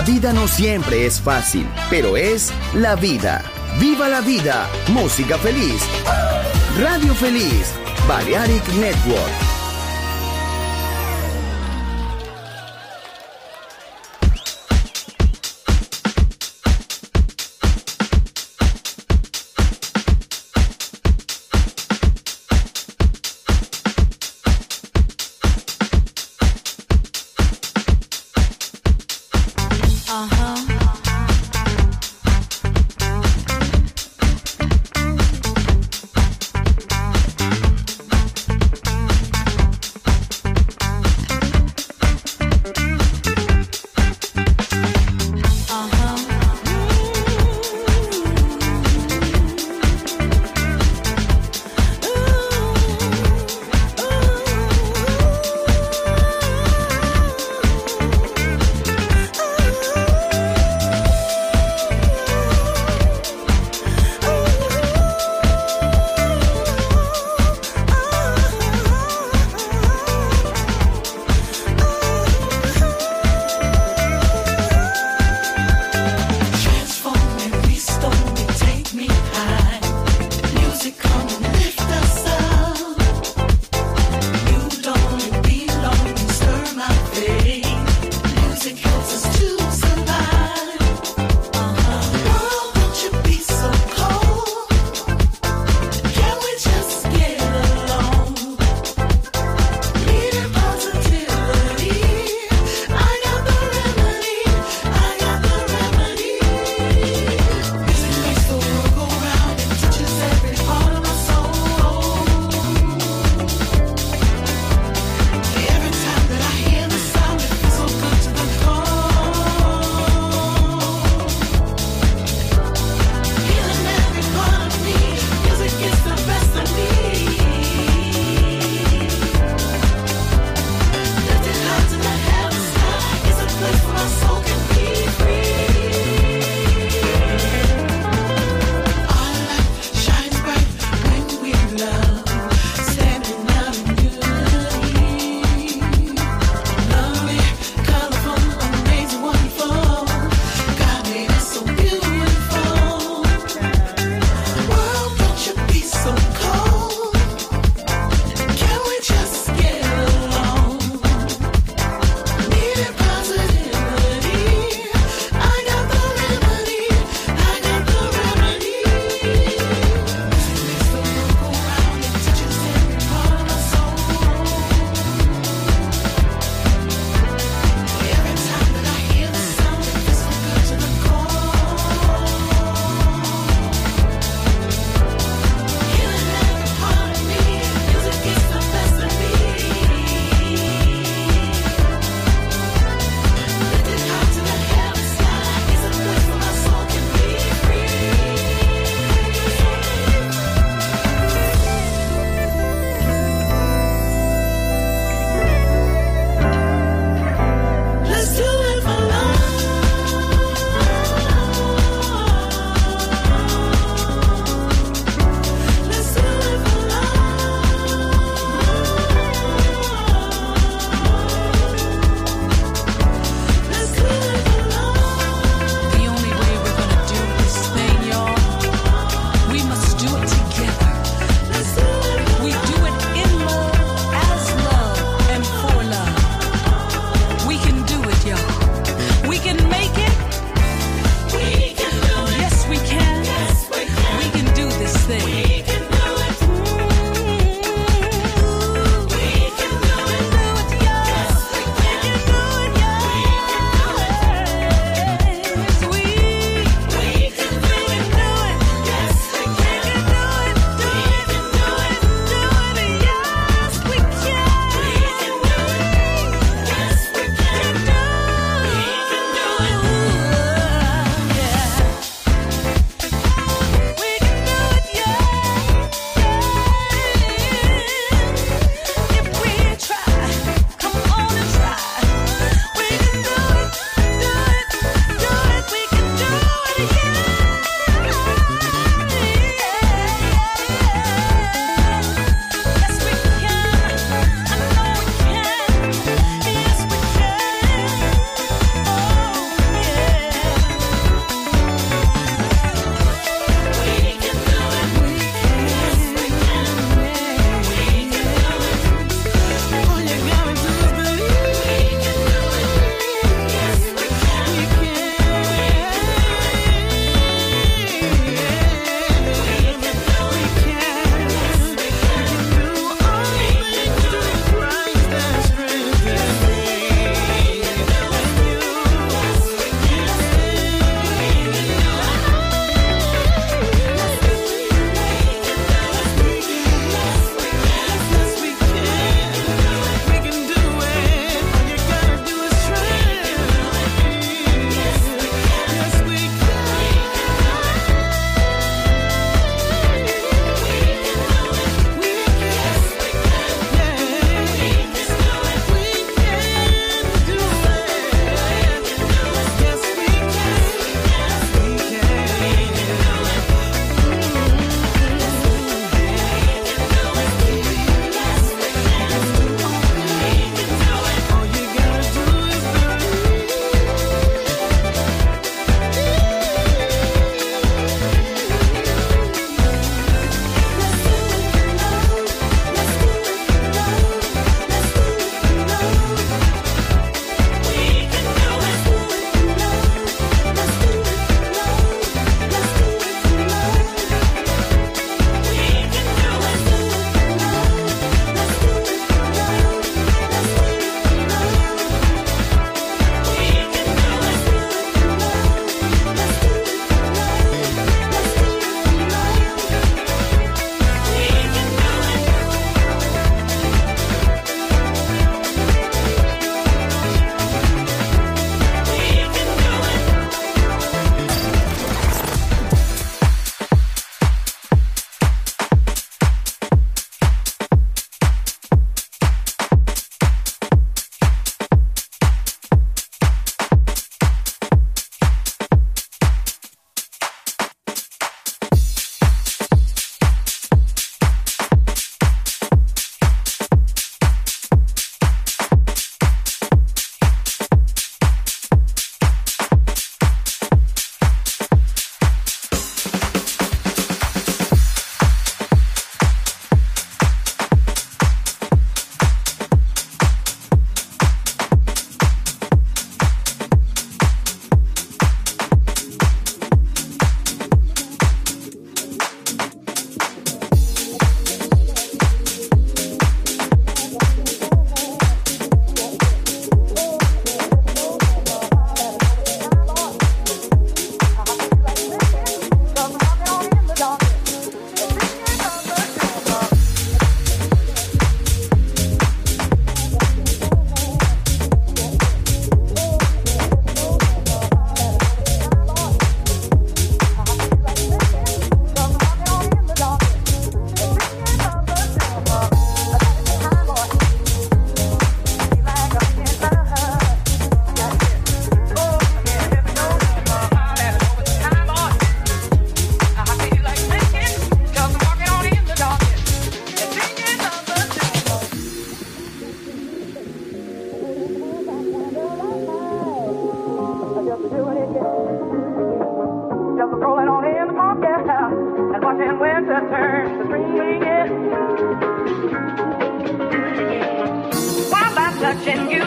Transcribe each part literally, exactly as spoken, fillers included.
vida no siempre es fácil, pero es la vida. ¡Viva la vida! Música feliz. Radio Feliz. Balearic Network.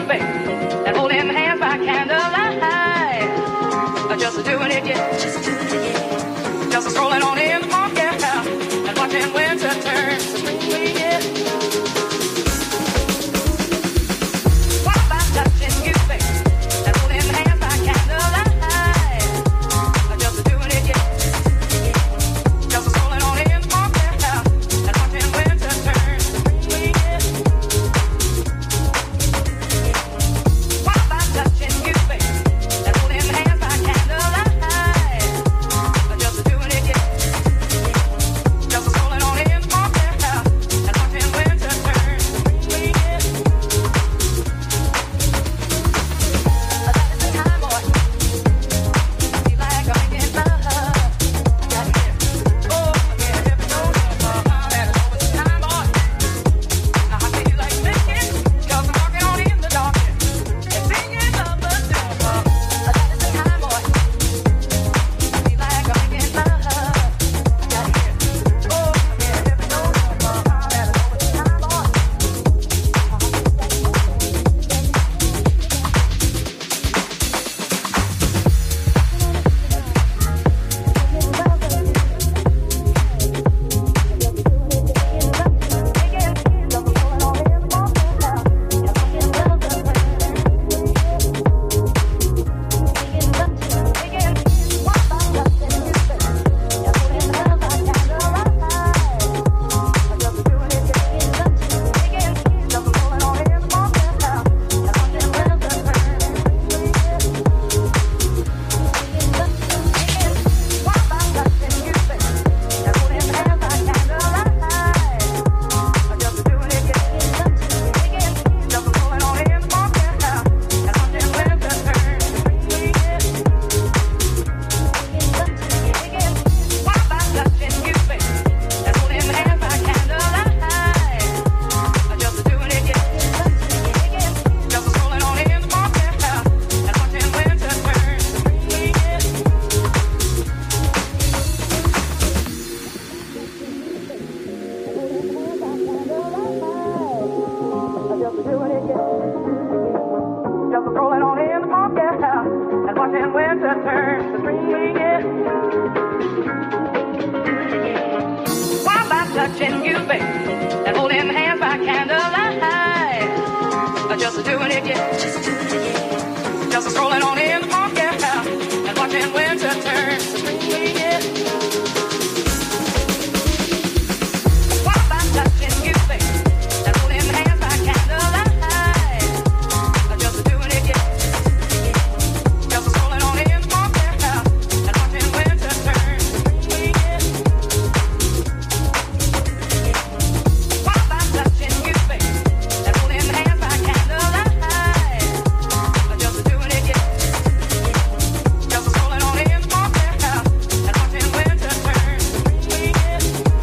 baby, and holding hands by candlelight. Just doing it, yeah. Just strolling on in the park, yeah, and watching winter turn to spring, yeah. What about touching you, baby, and holding hands by candlelight? Just doing it, yeah. Just strolling on in the park, yeah, and watching winter turn to spring, yeah. What about touching you, baby, and holding hands by candlelight? Just doing it, yeah. Just strolling on in the park, yeah, and watching winter turn to spring, yeah. That is the time, boy. Feel like I'm making love. Got it here. Oh, yeah, if you don't know, that is always the time, boy. I feel like making, 'cause I'm walking on in the dark, yeah, and singing love, but still, that is the time, boy. Feel like I'm making love. Got it here. Oh, yeah, if you don't know, that is always the time, boy. Just rolling on in the park, yeah, and watching winter turn to spring, yeah. Why about touching you, baby, and holding hands by candlelight? Just doing it, yeah. Just strolling on in the park, yeah, and watching winter turn to spring, yeah. Why about touching you, baby, and holding hands by candlelight? Just doing it, yeah. Just strolling on in the park, yeah, and watching winter turn to spring, yeah. Why about touching you, baby, and holding hands by candlelight? Just doing it, yeah. Just strolling on in the park, yeah, and watching winter turn to spring, yeah.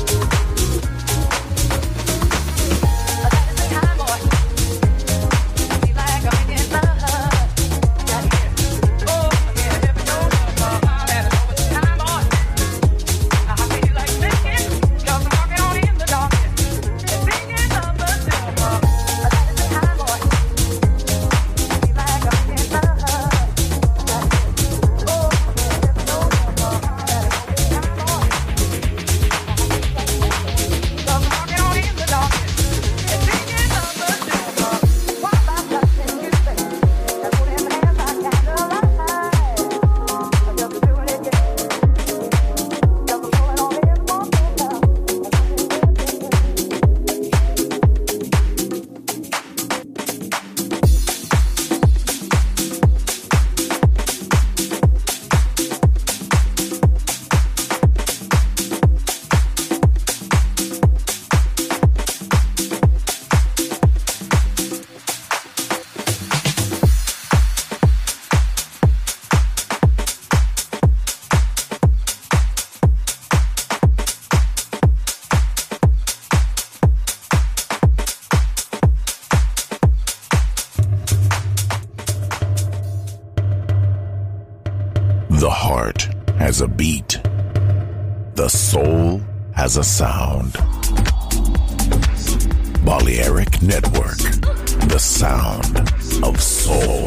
That is the time, boy. Feel like I'm making love. Got it here. Oh, yeah, if you don't know, that is always the time, boy. I feel like making, 'cause I'm walking on in the dark, yeah, and singing love, but still, that is the time, boy. Feel like I'm making love. Got it here. Oh, yeah, if you don't know, that is always the time, boy. 'Cause I'm walking on in the dark, yeah, and singing love, but still, what about touching you, baby, and holding hands by candlelight? Just doing it, yeah. Just rolling on in the park, yeah, and watching The heart has a beat. The soul has a sound. Balearic Network, the sound of soul.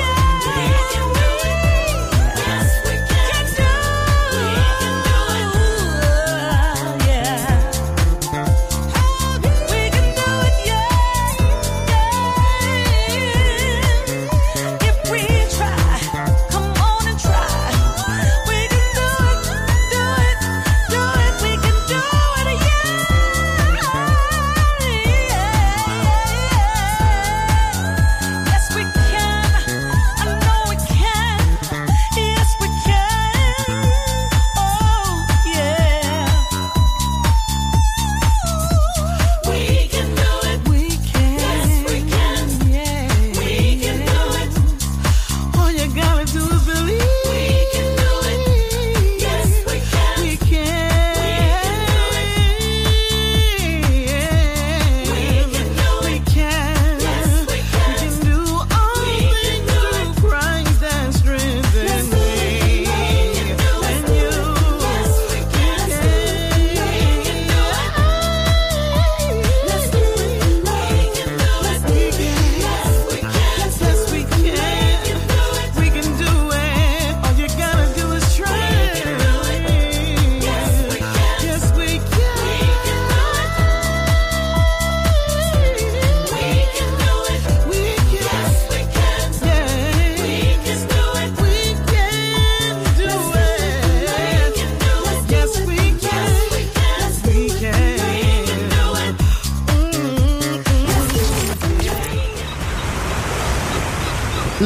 We can do it.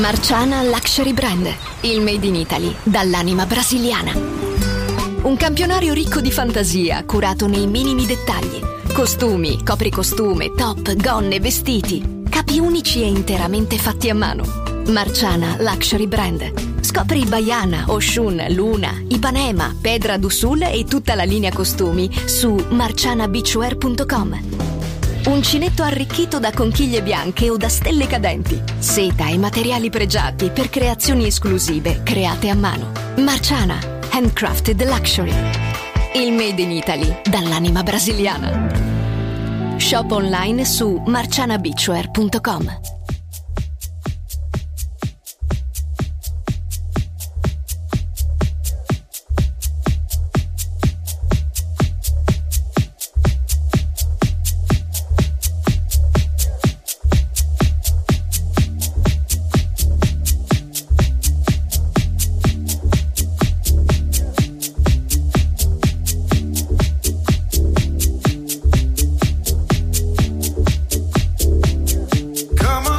Marciana Luxury Brand, il made in Italy dall'anima brasiliana. Un campionario ricco di fantasia, curato nei minimi dettagli. Costumi, copricostume, top, gonne, vestiti. Capi unici e interamente fatti a mano. Marciana Luxury Brand. Scopri Baiana, Oshun, Luna, Ipanema, Pedra do Sul e tutta la linea costumi su marciana beachwear punto com. Uncinetto arricchito da conchiglie bianche o da stelle cadenti. Seta e materiali pregiati per creazioni esclusive create a mano. Marciana, handcrafted luxury. Il made in Italy dall'anima brasiliana. Shop online su marciana beachwear punto com. Come on.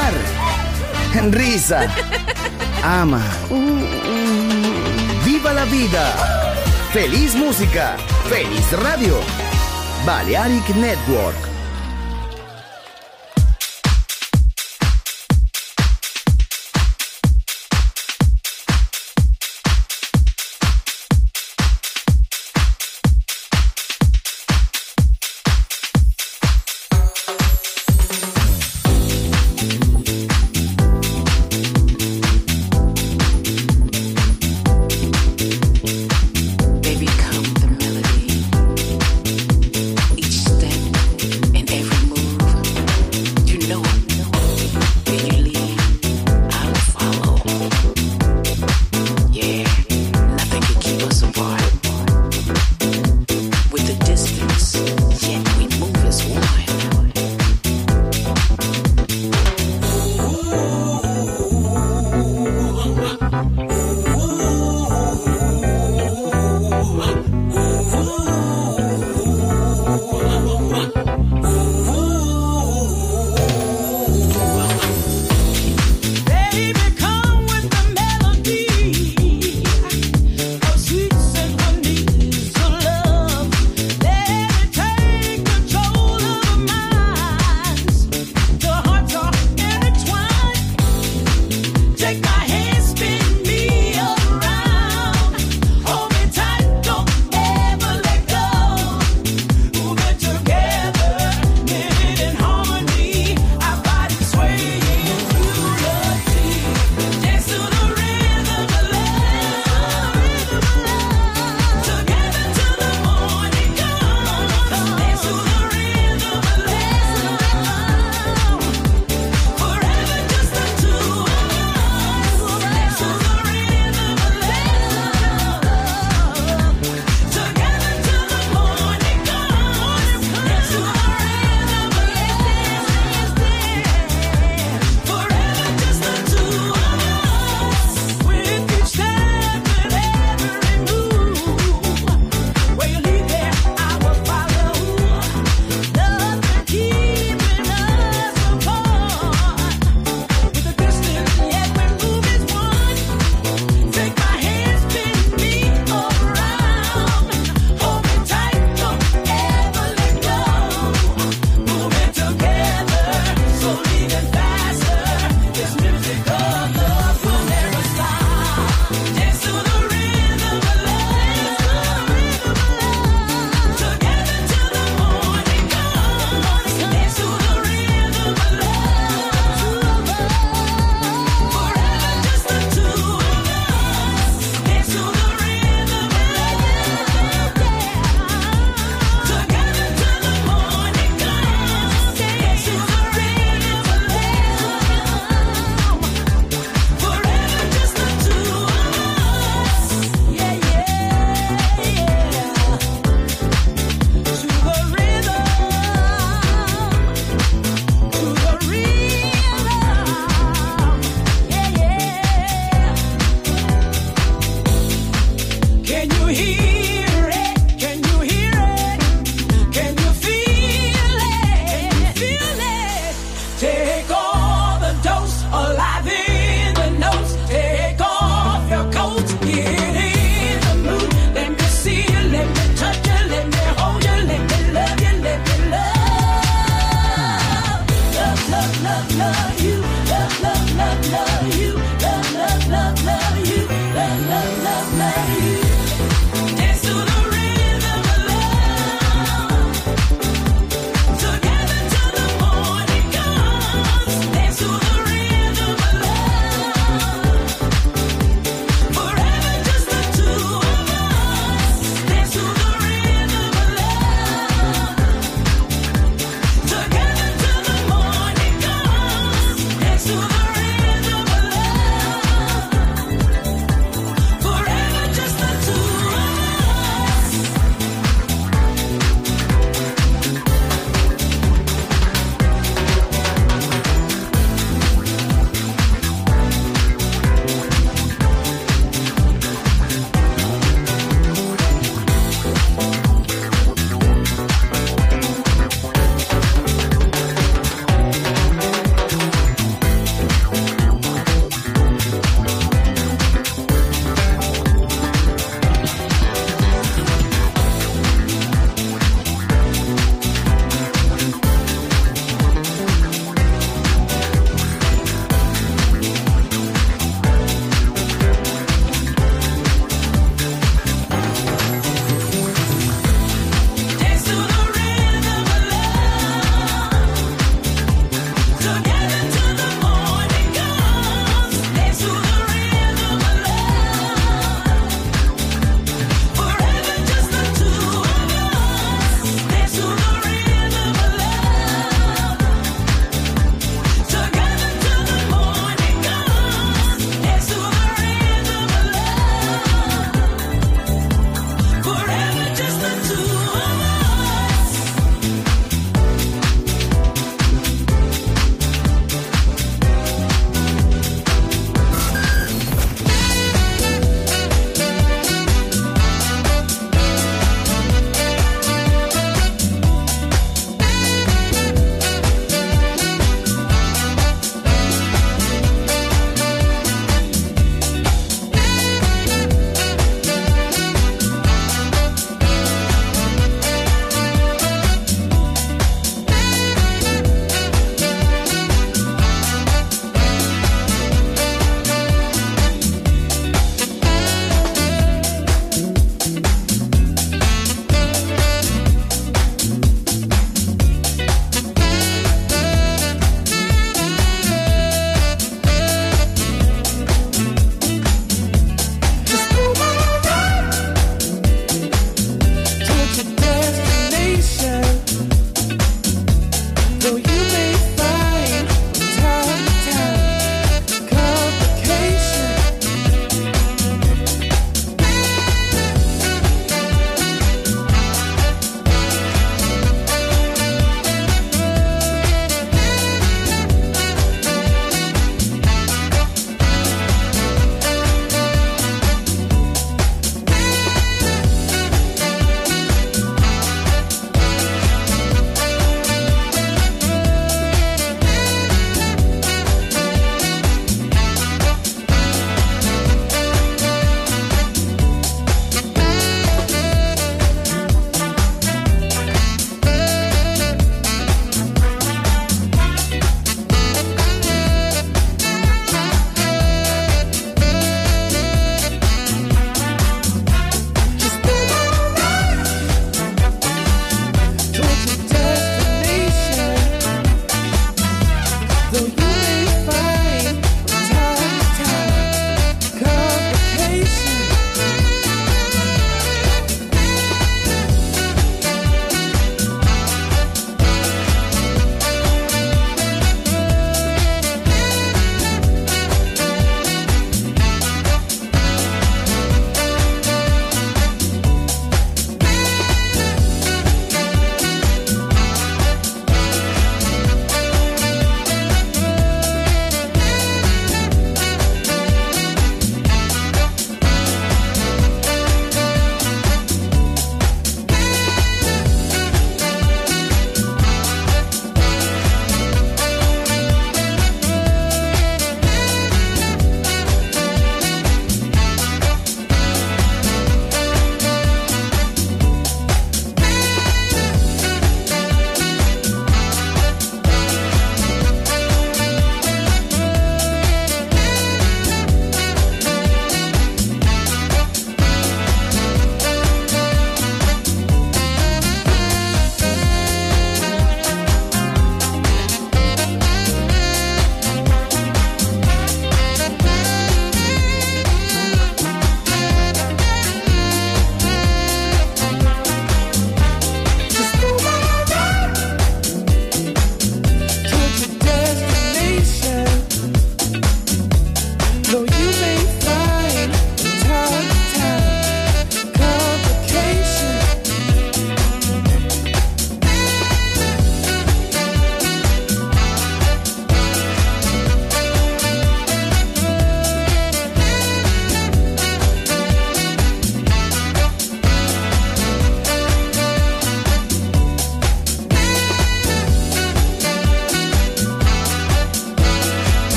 Llorar. Risa. Ama. Viva la vida. Feliz música. Feliz radio. Balearic Network. They become the melody. Each step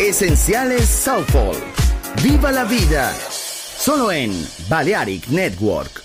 Esenciales Soulful. Viva la vida. Solo en Balearic Network.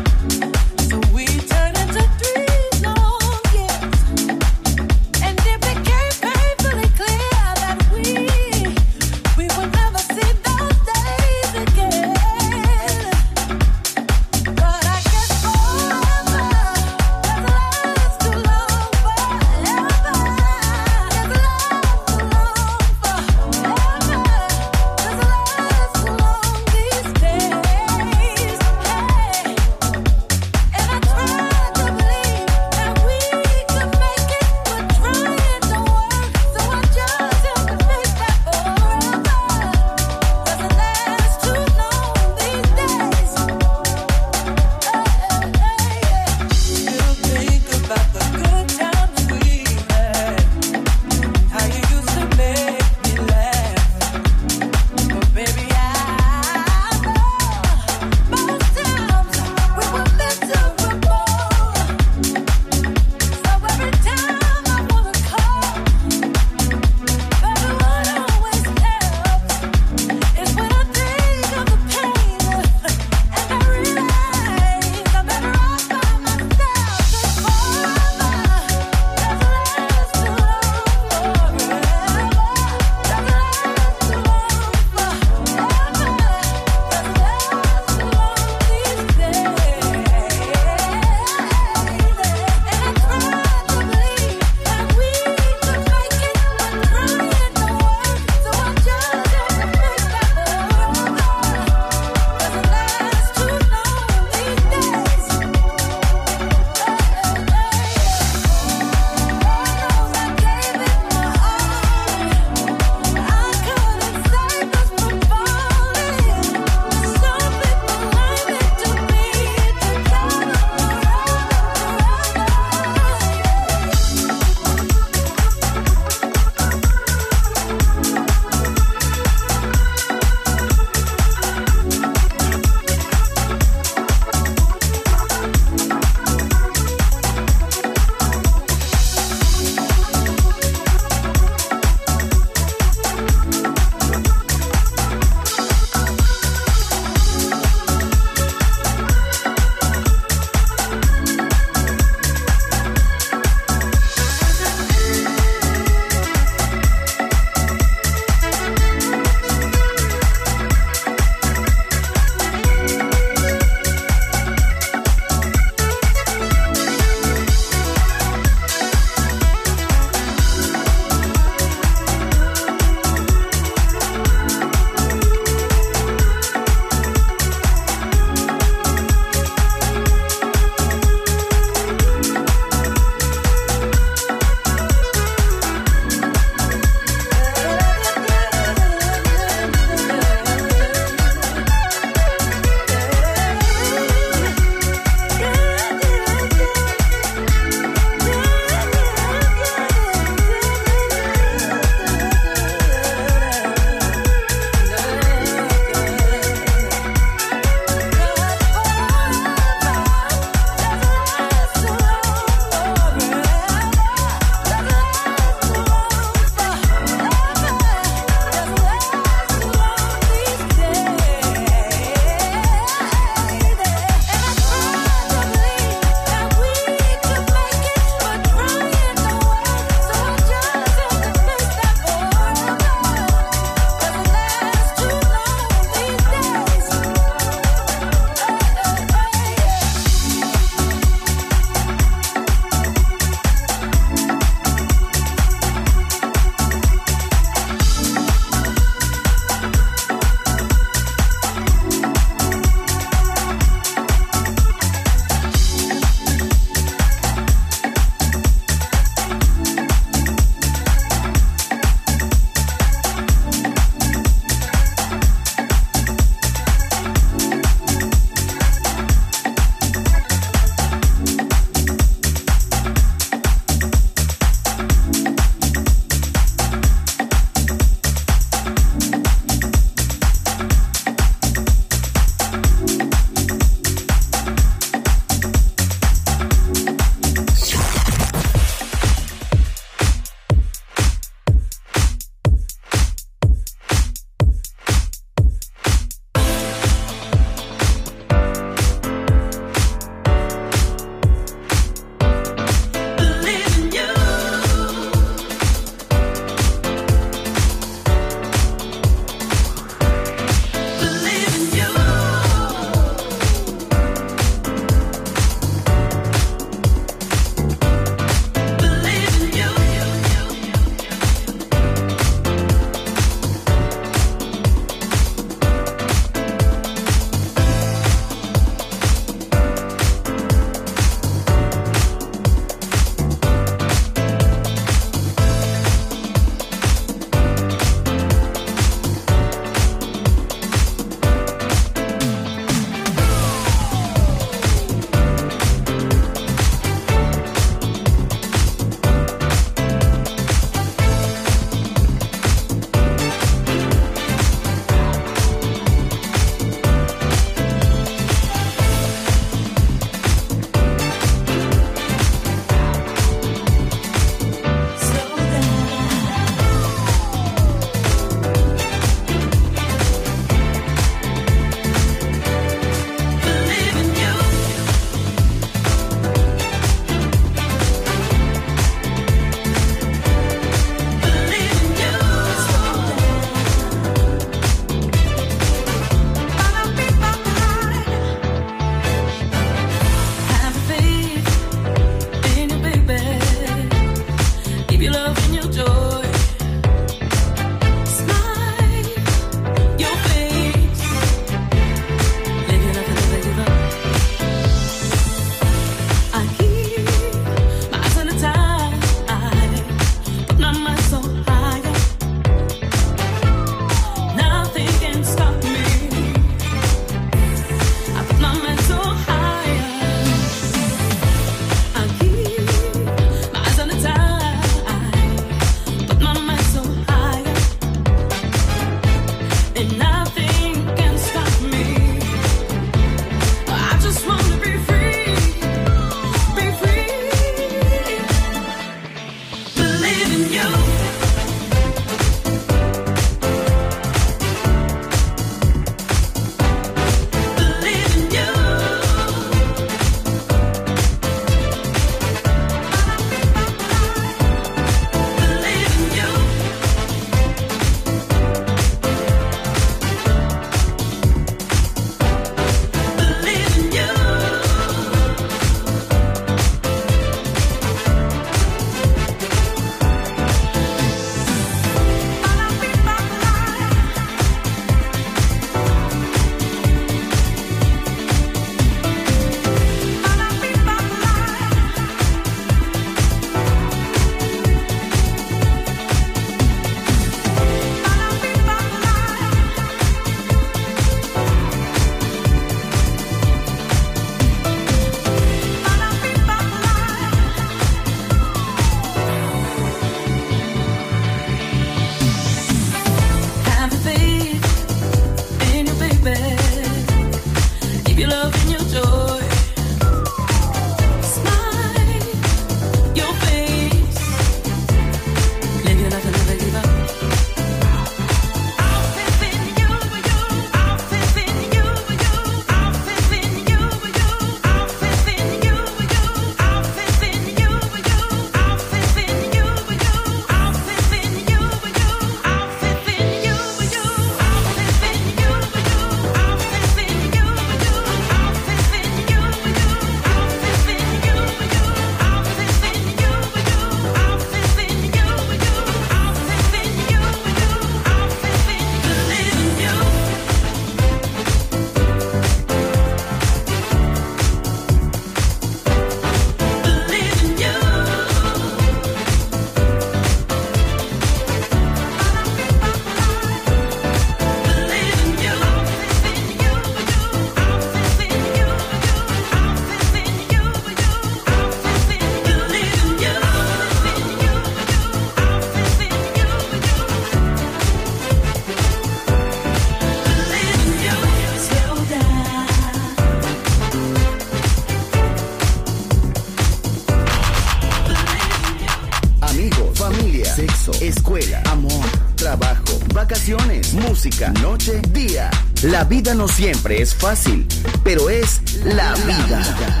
música, noche, día. La vida no siempre es fácil, pero es la vida.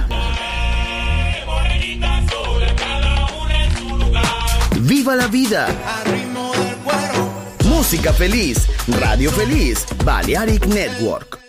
¡Viva la vida! Música feliz, Radio Feliz, Balearic Network.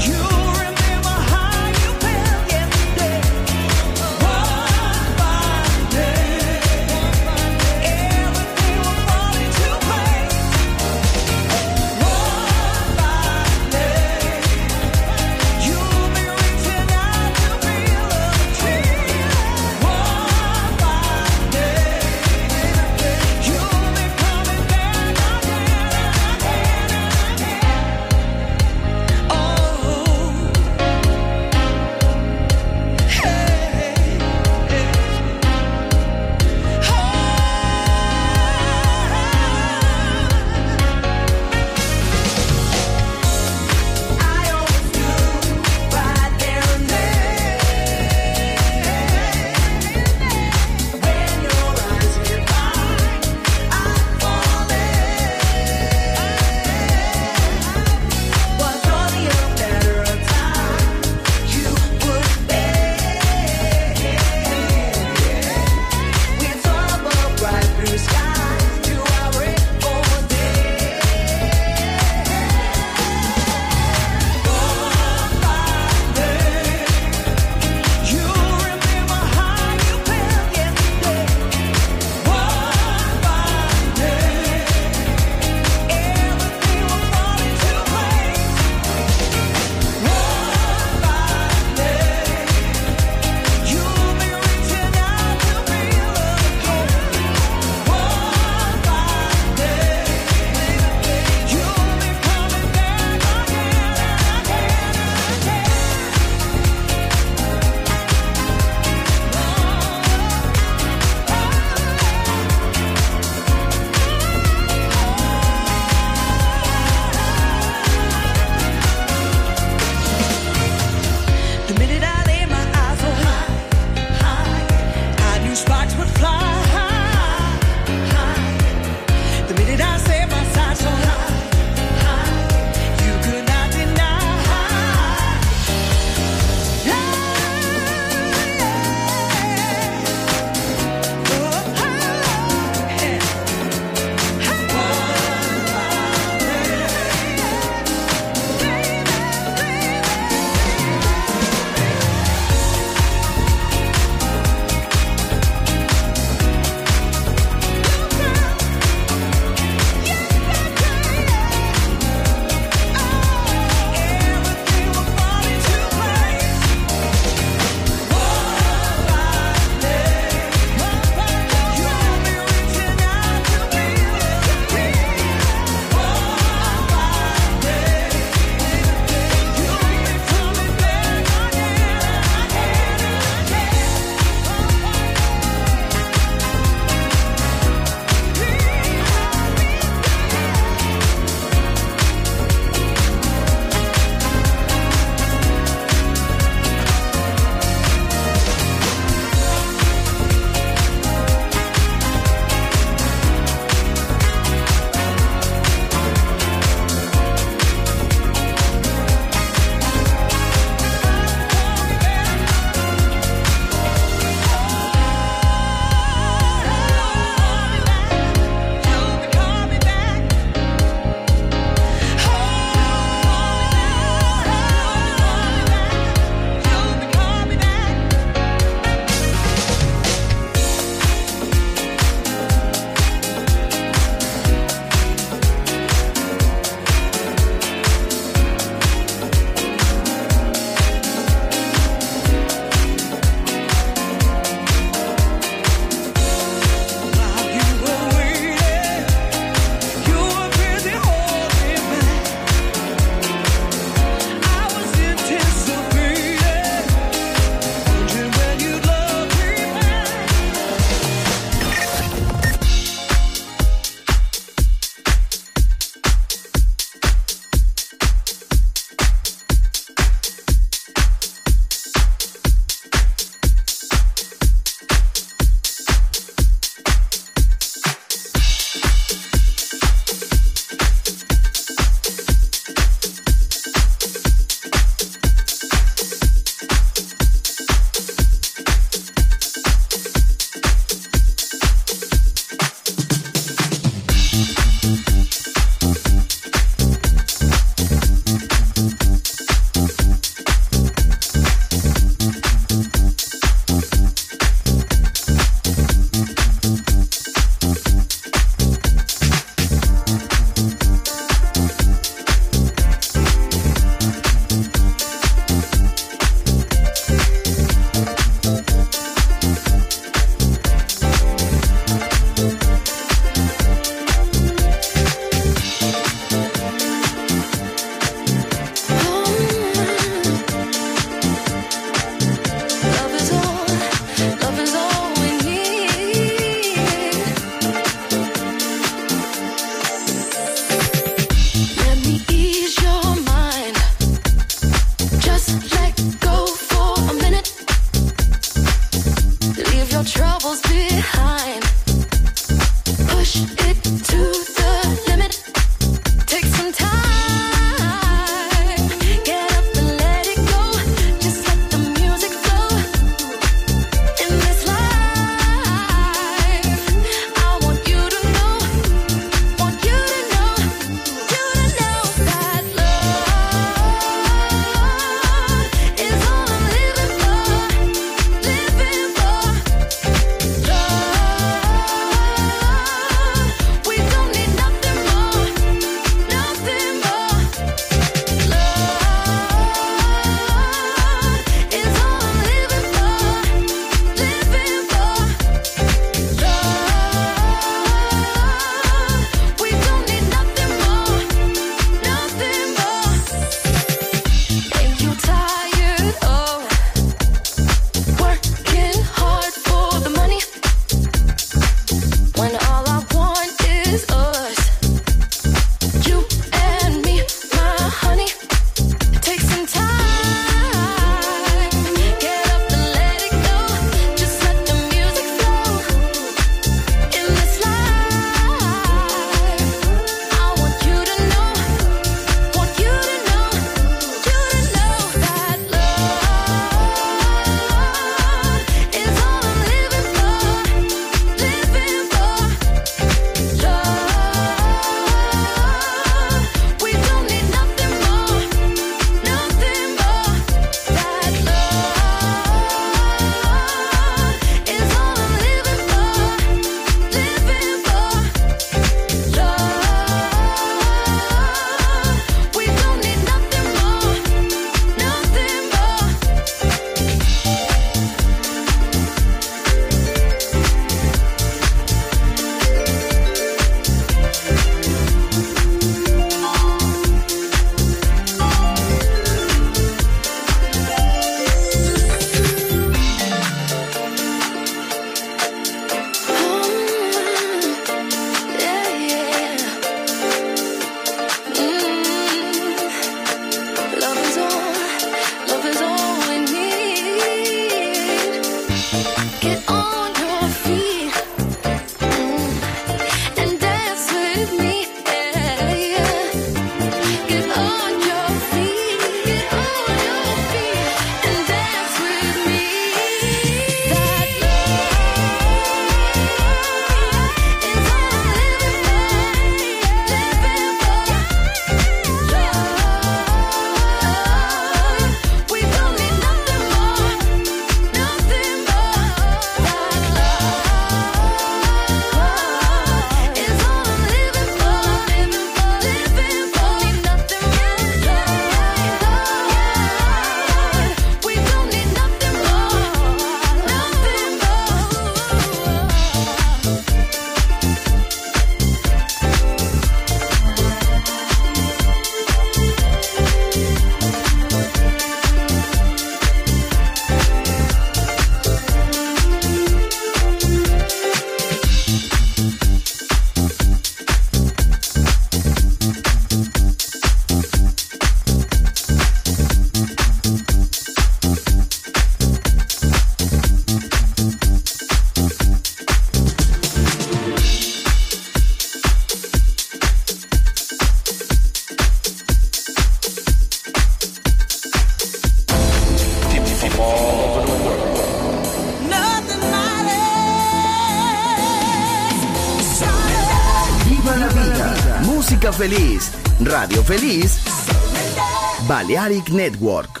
música feliz, radio feliz, Balearic Network.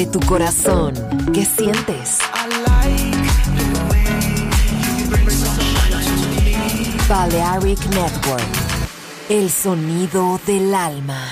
Abre tu corazón. ¿Qué sientes? Balearic Network. El sonido del alma.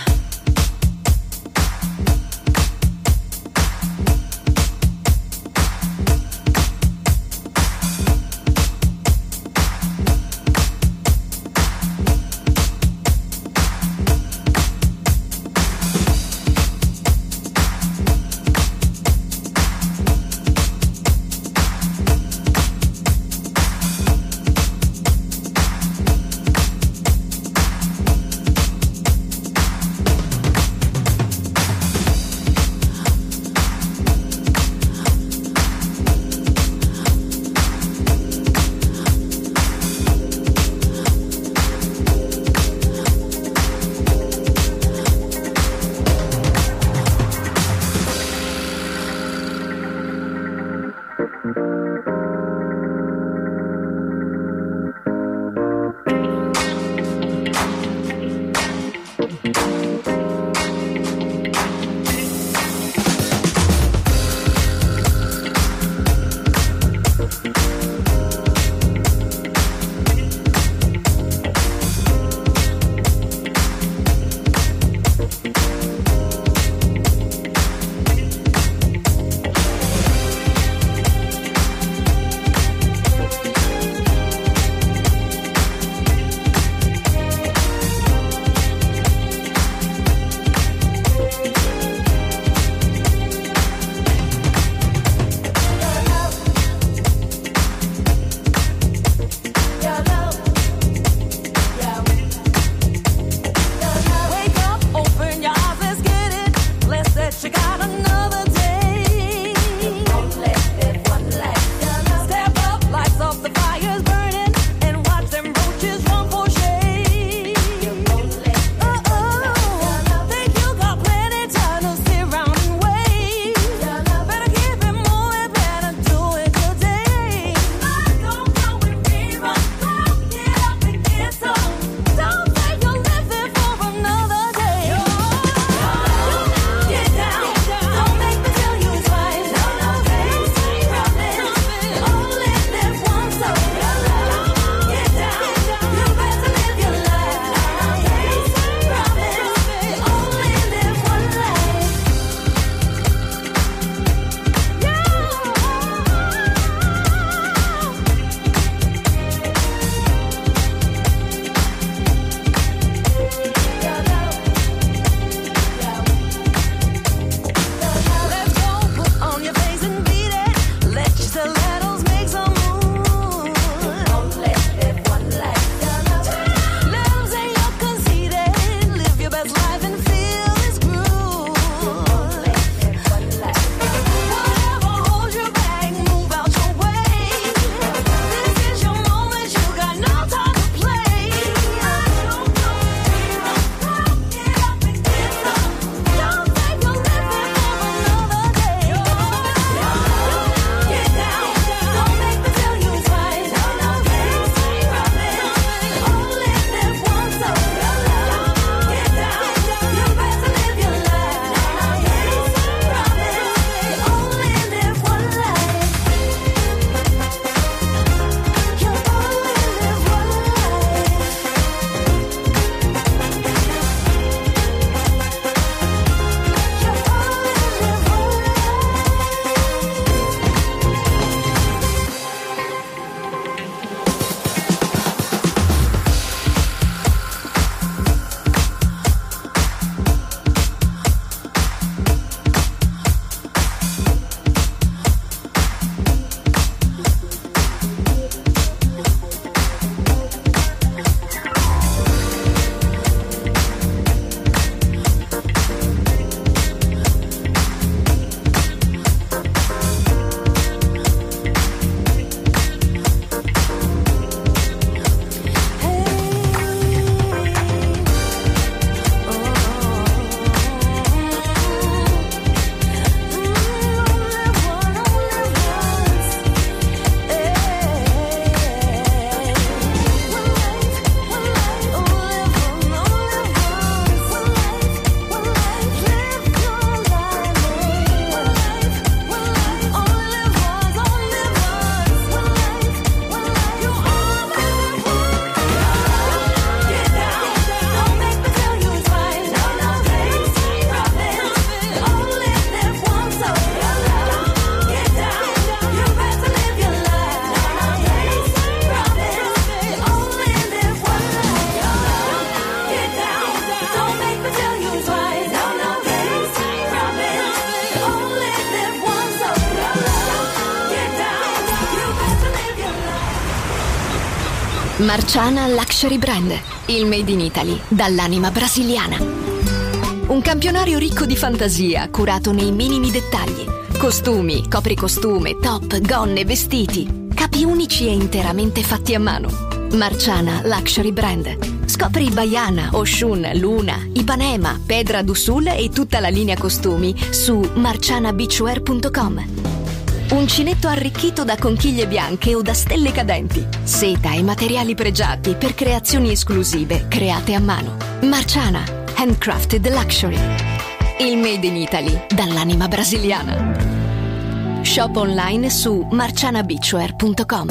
Marciana Luxury Brand, il made in Italy dall'anima brasiliana. Un campionario ricco di fantasia, curato nei minimi dettagli. Costumi, copricostume, top, gonne, vestiti. Capi unici e interamente fatti a mano. Marciana Luxury Brand. Scopri Baiana, Oshun, Luna, Ipanema, Pedra do Sul e tutta la linea costumi su marciana beachwear punto com. Uncinetto arricchito da conchiglie bianche o da stelle cadenti. Seta e materiali pregiati per creazioni esclusive create a mano. Marciana, handcrafted luxury. Il made in Italy dall'anima brasiliana. Shop online su marciana beachwear punto com.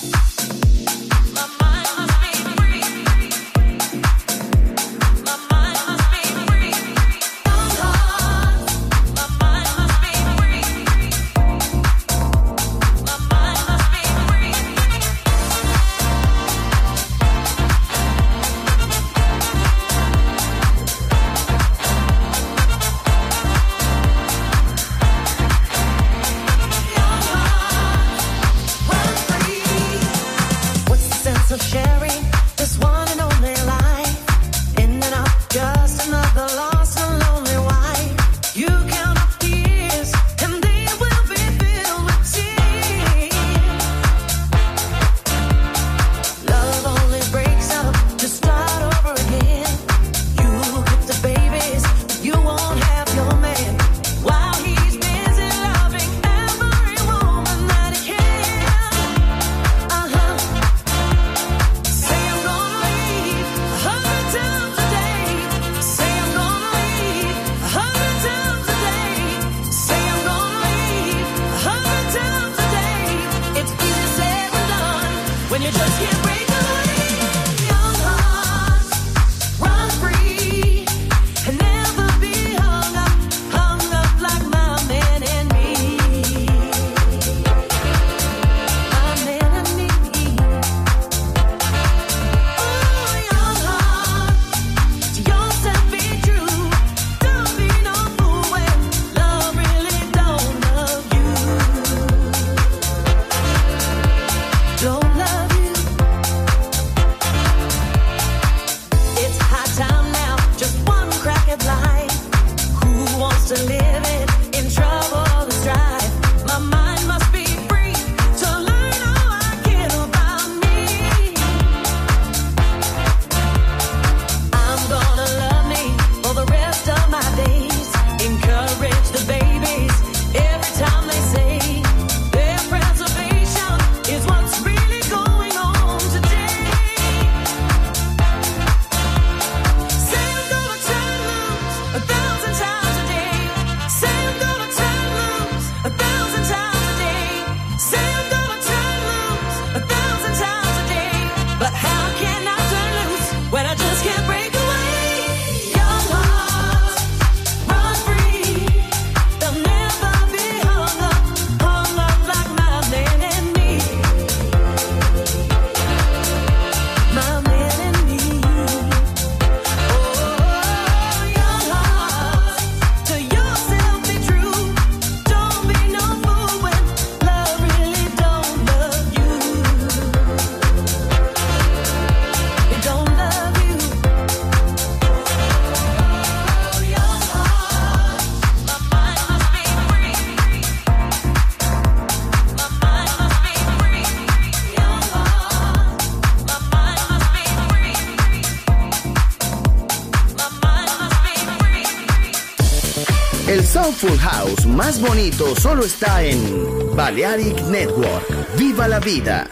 El Soulful House más bonito solo está en Balearic Network. ¡Viva la vida!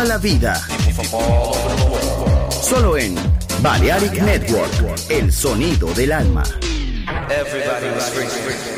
Viva la vida. Solo en Balearic Network, el sonido del alma. Everybody was free, free, free.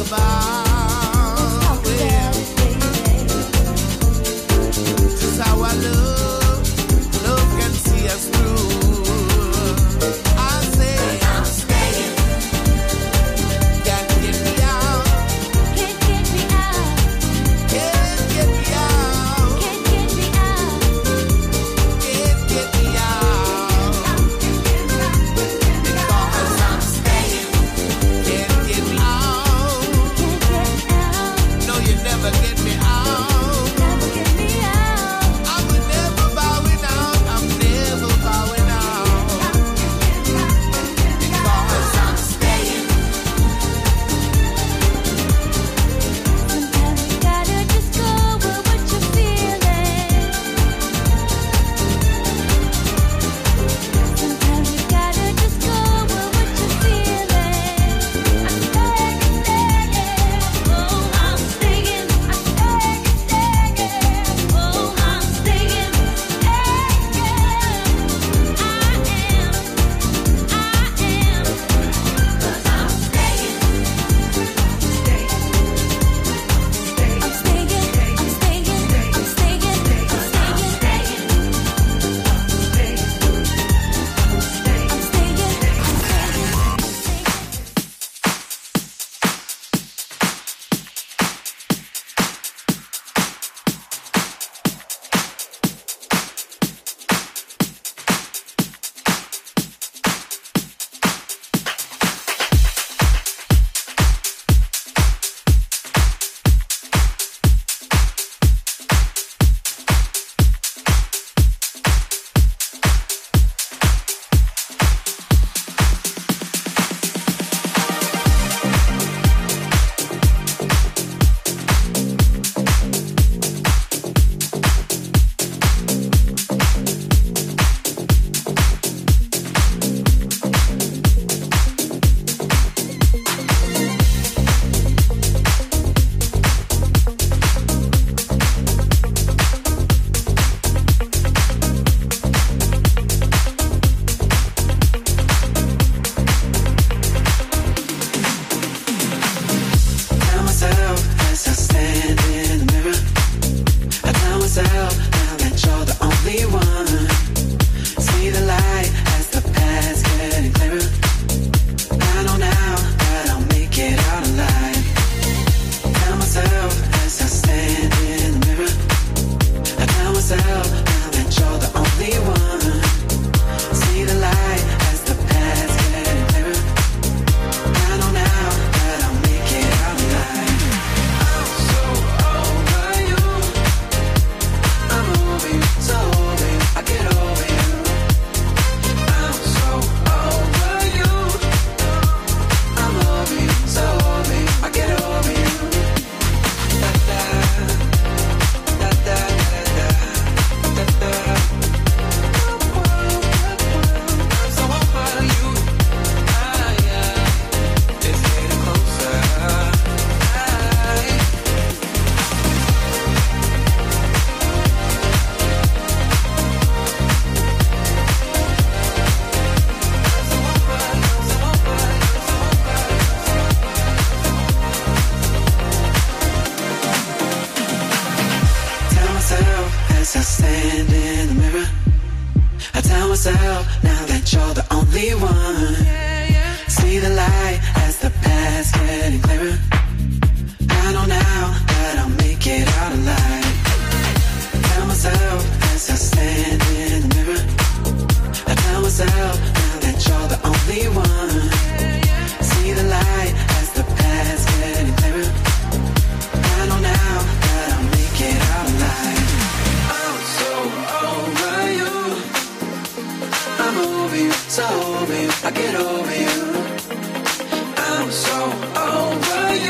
myself now that you're the only one. See the light as the path's getting clearer. I know now that I'll make it out alive. Tell myself as I stand in the mirror. I tell myself now that you're the only one. See the light as the path's getting clearer. I know now that I'll make it out alive. I'm so over you. I'm over you, so over you. I get over you. I'm so over you.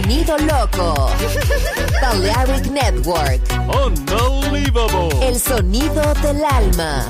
sonido loco. Balearic Network. Unbelievable. El sonido del alma.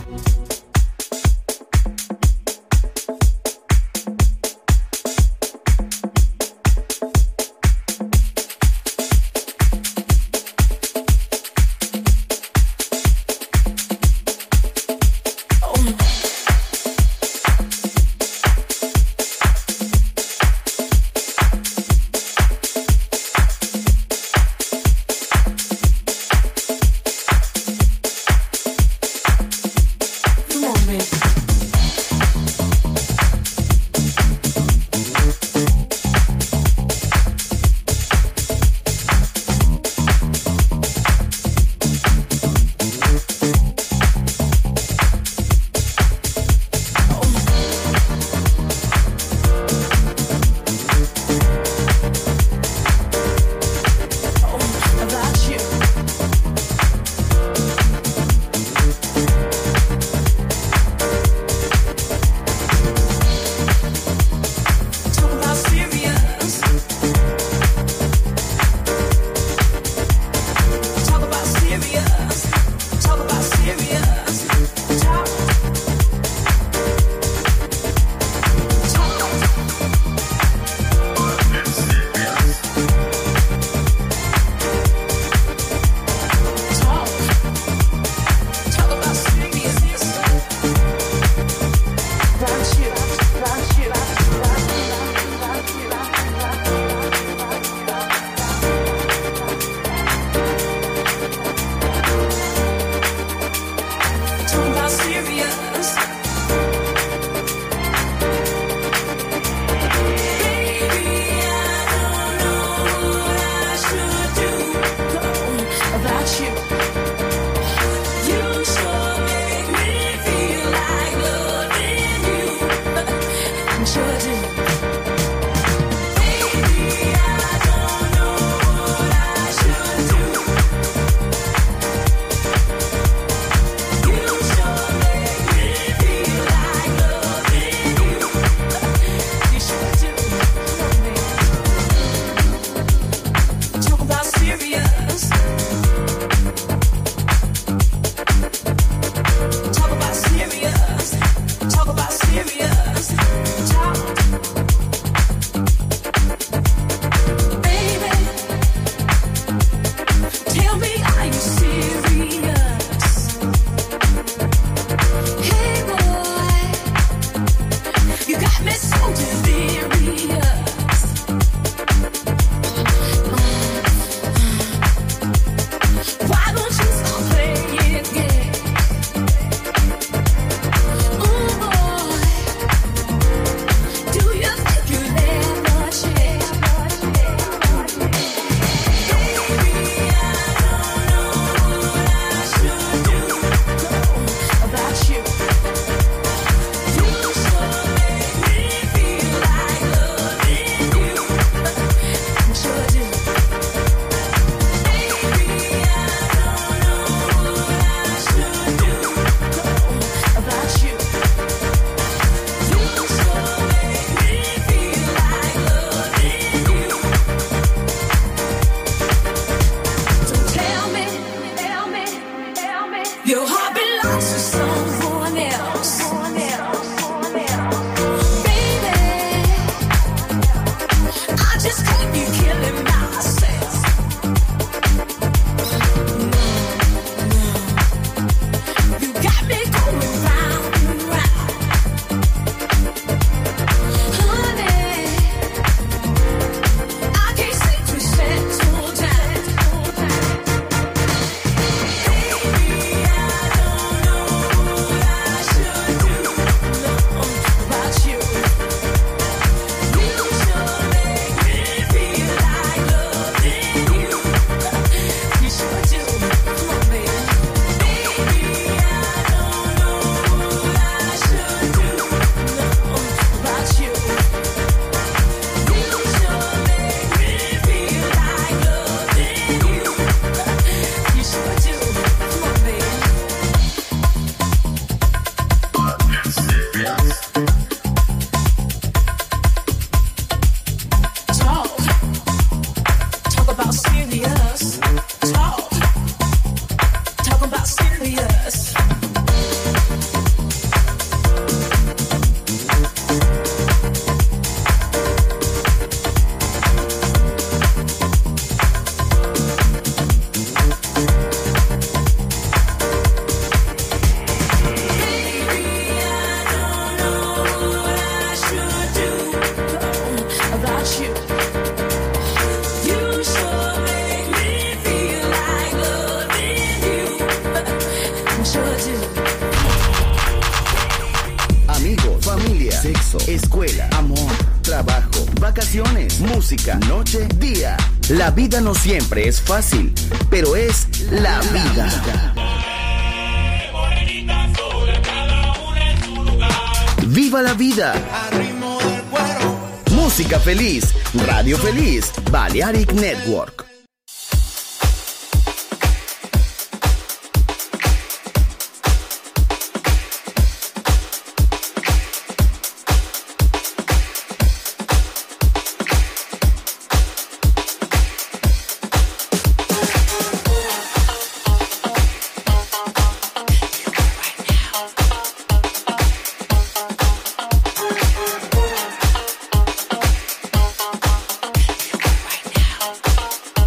vacaciones, música, noche, día. La vida no siempre es fácil, pero es la vida. ¡Viva la vida! Música feliz, radio feliz, Balearic Network. Right now.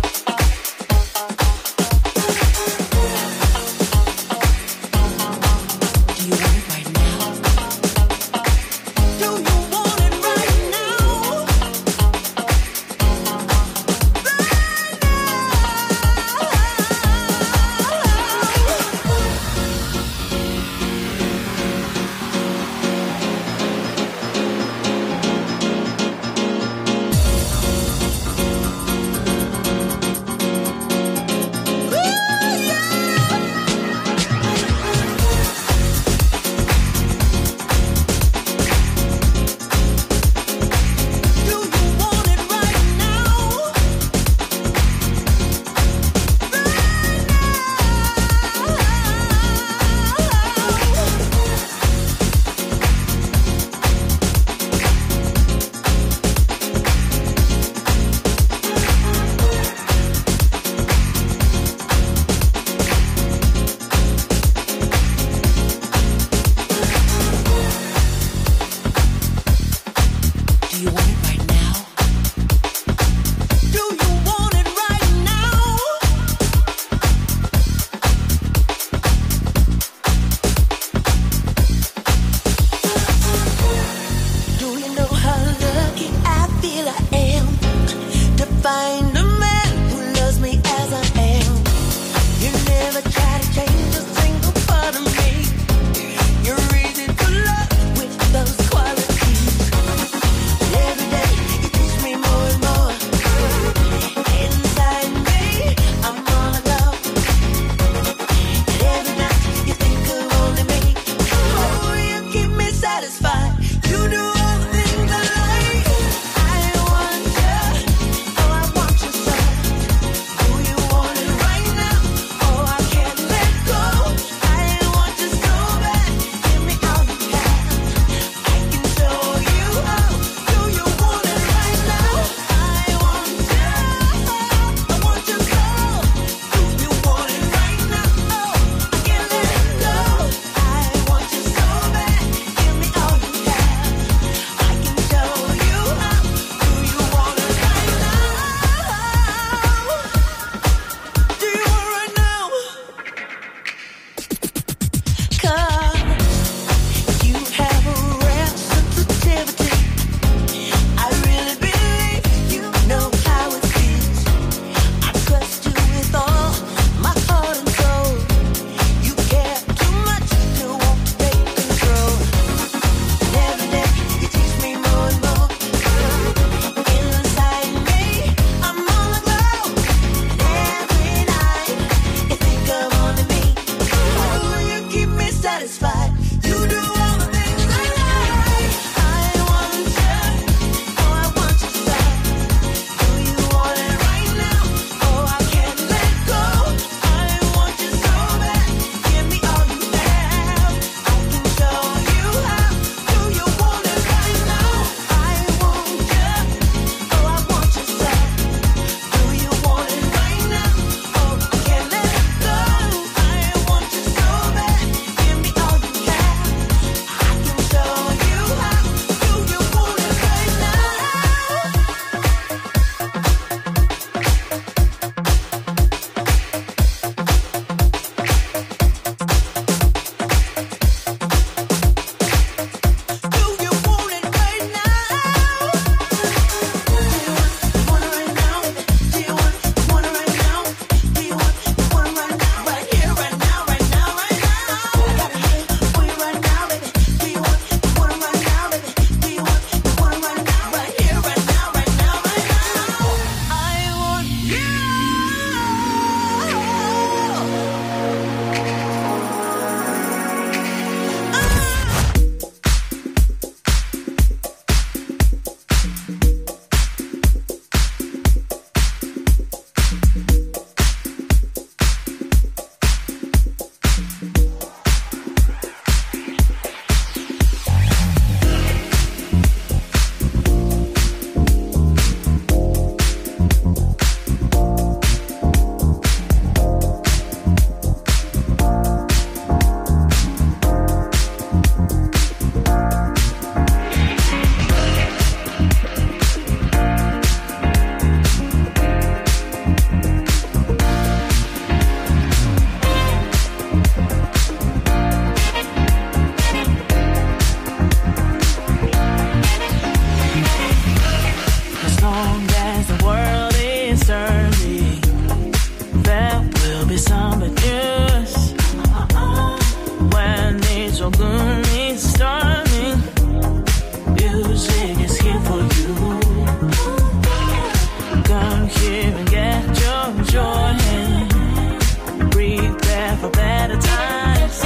and get your joy and breathe there for better times.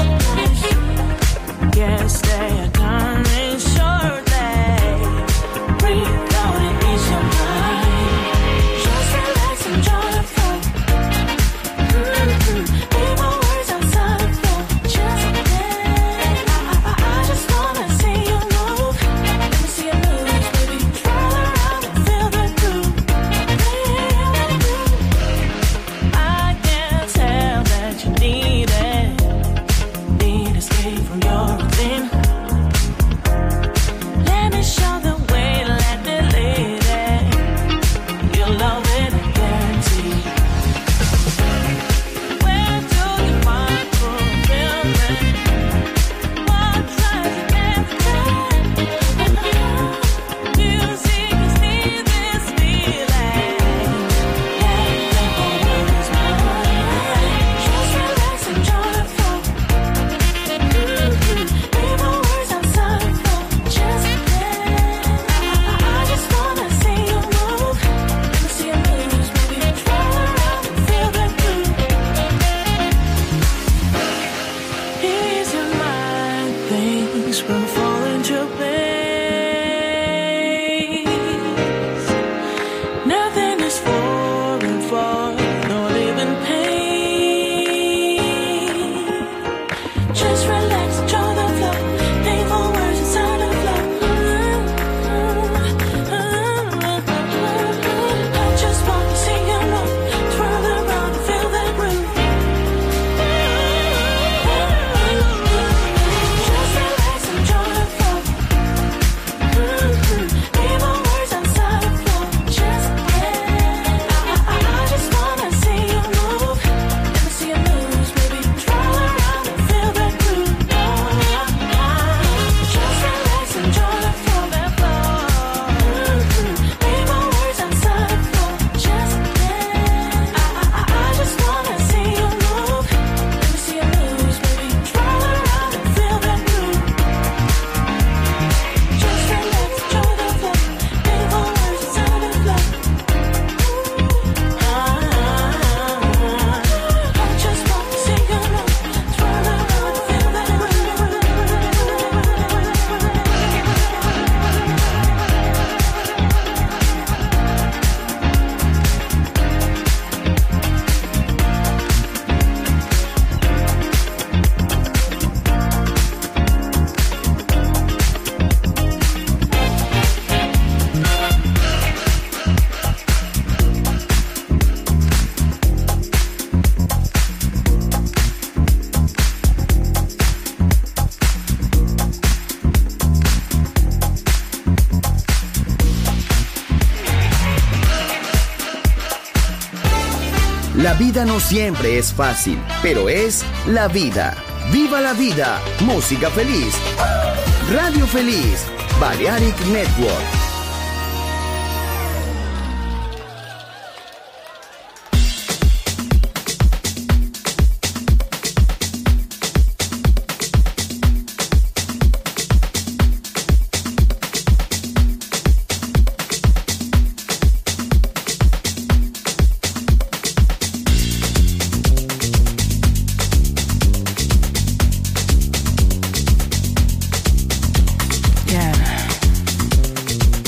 Yes, they are coming shortly. Breathe out and ease your mind. Just relax, enjoy the flow. Mm-hmm. Leave my words outside the flow. Just again, I, I, I just wanna see you move. Let me see you move, baby. Twirl around and feel the groove. Feel the groove. I can tell that you need it. Need escape from your routine. Let me show the way, let me lead it. You'll love it, guaranteed. Where do you find fulfillment? What drives you every day? Music is me, this feeling. Let the whole world is mine. Just relax, enjoy the flow. Mm-hmm. Leave my words outside the flow. Just again, I, I just wanna see you move. Let me see you move, baby. Twirl around and feel the groove. Ease your mind, things will fall into place. Nothing is foreign for no living pain. Just relax, enjoy the flow. Leave all words inside the flow. I just want to see you move. Twirl around and feel that groove. Just relax, enjoy the flow. Leave all words outside the flow. Just again, I, I, I just wanna see you move. Let me see you move, baby. Twirl around and feel that groove. Just relax, enjoy the flow. Leave all words outside the flow. Just again, I, I, I just wanna see you move. Let me see you move, baby. Twirl around and feel that groove. Just relax, enjoy the flow. Leave all words inside the flow. I just want to see you move. Twirl around and feel that groove. La vida no siempre es fácil, pero es la vida. ¡Viva la vida! Música feliz. Radio Feliz. Balearic Network. Yeah.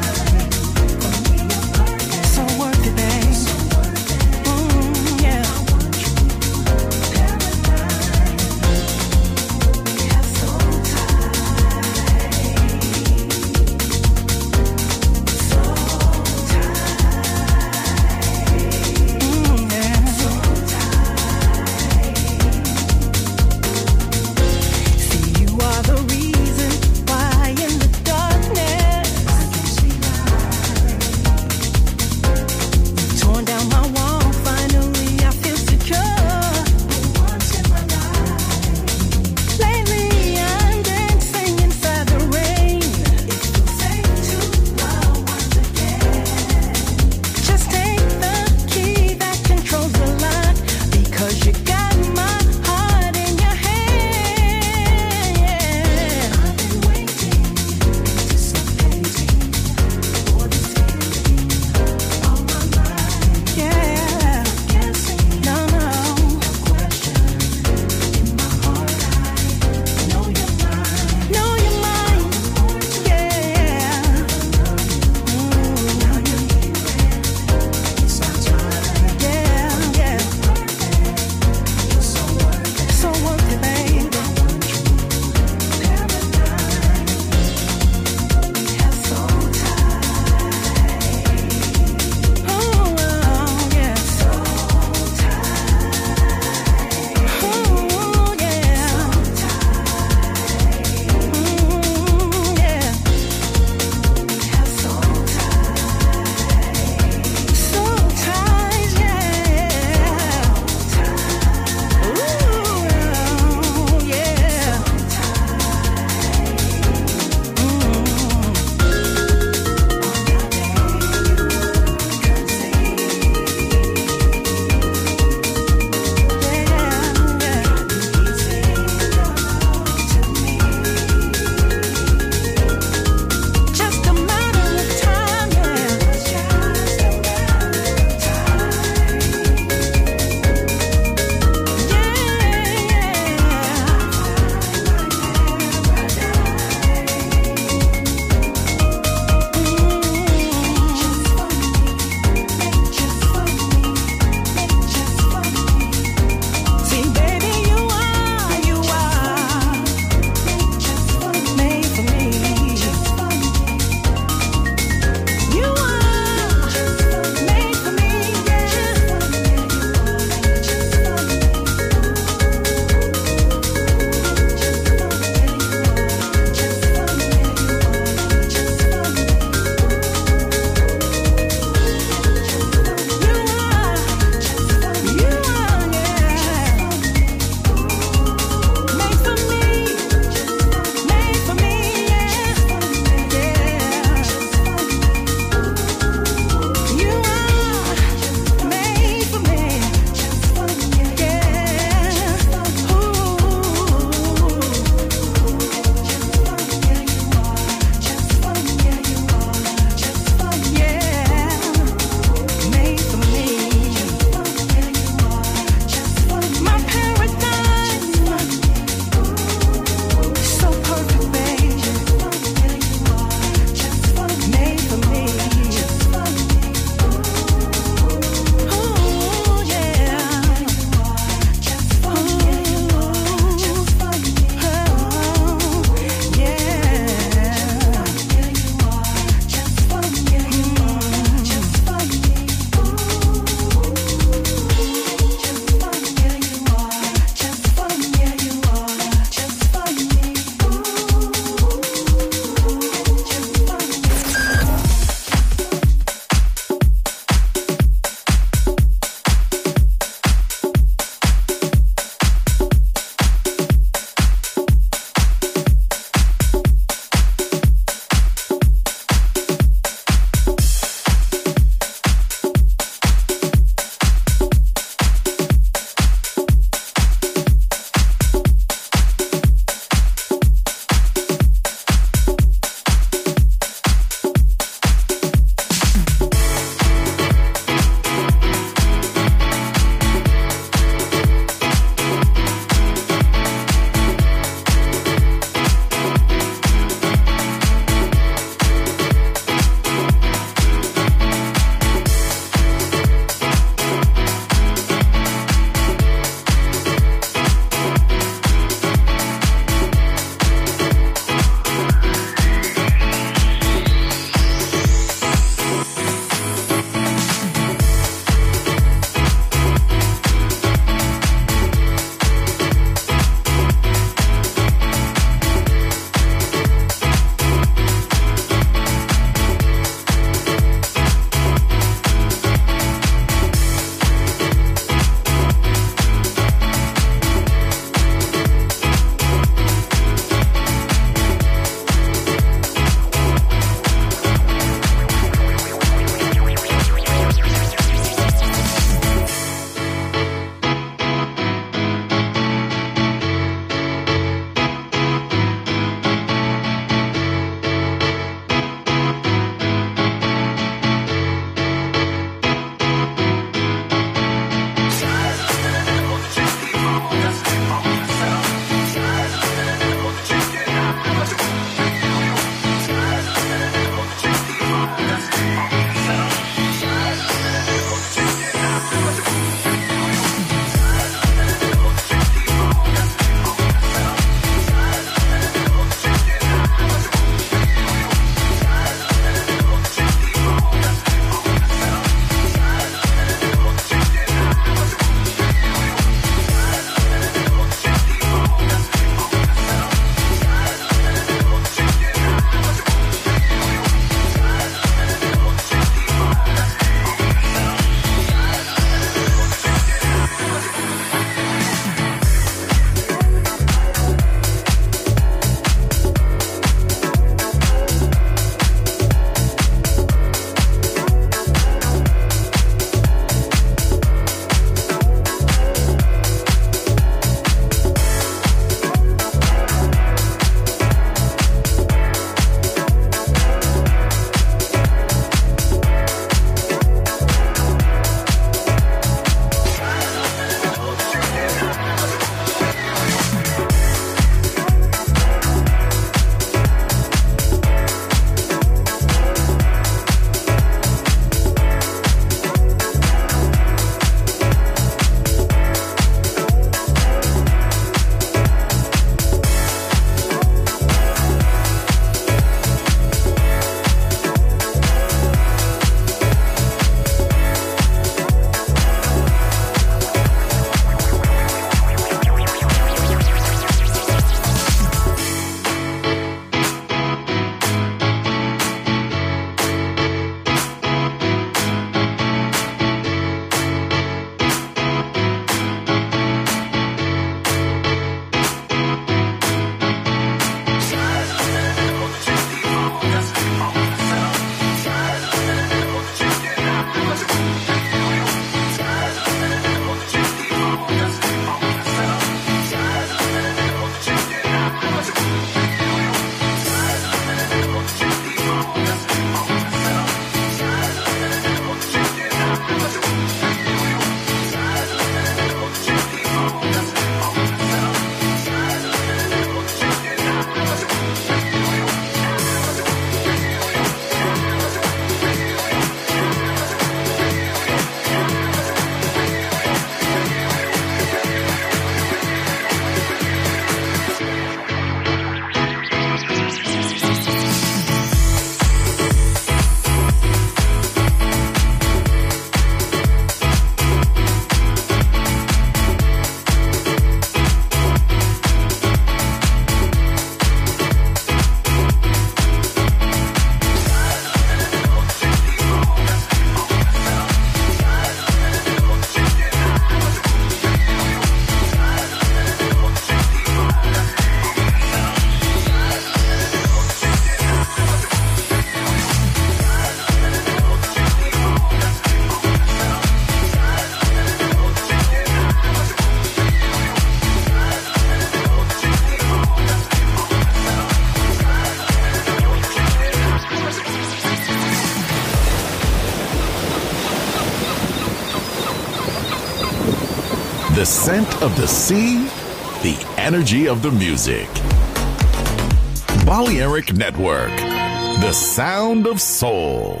The scent of the sea, the energy of the music. Balearic Network, the sound of soul.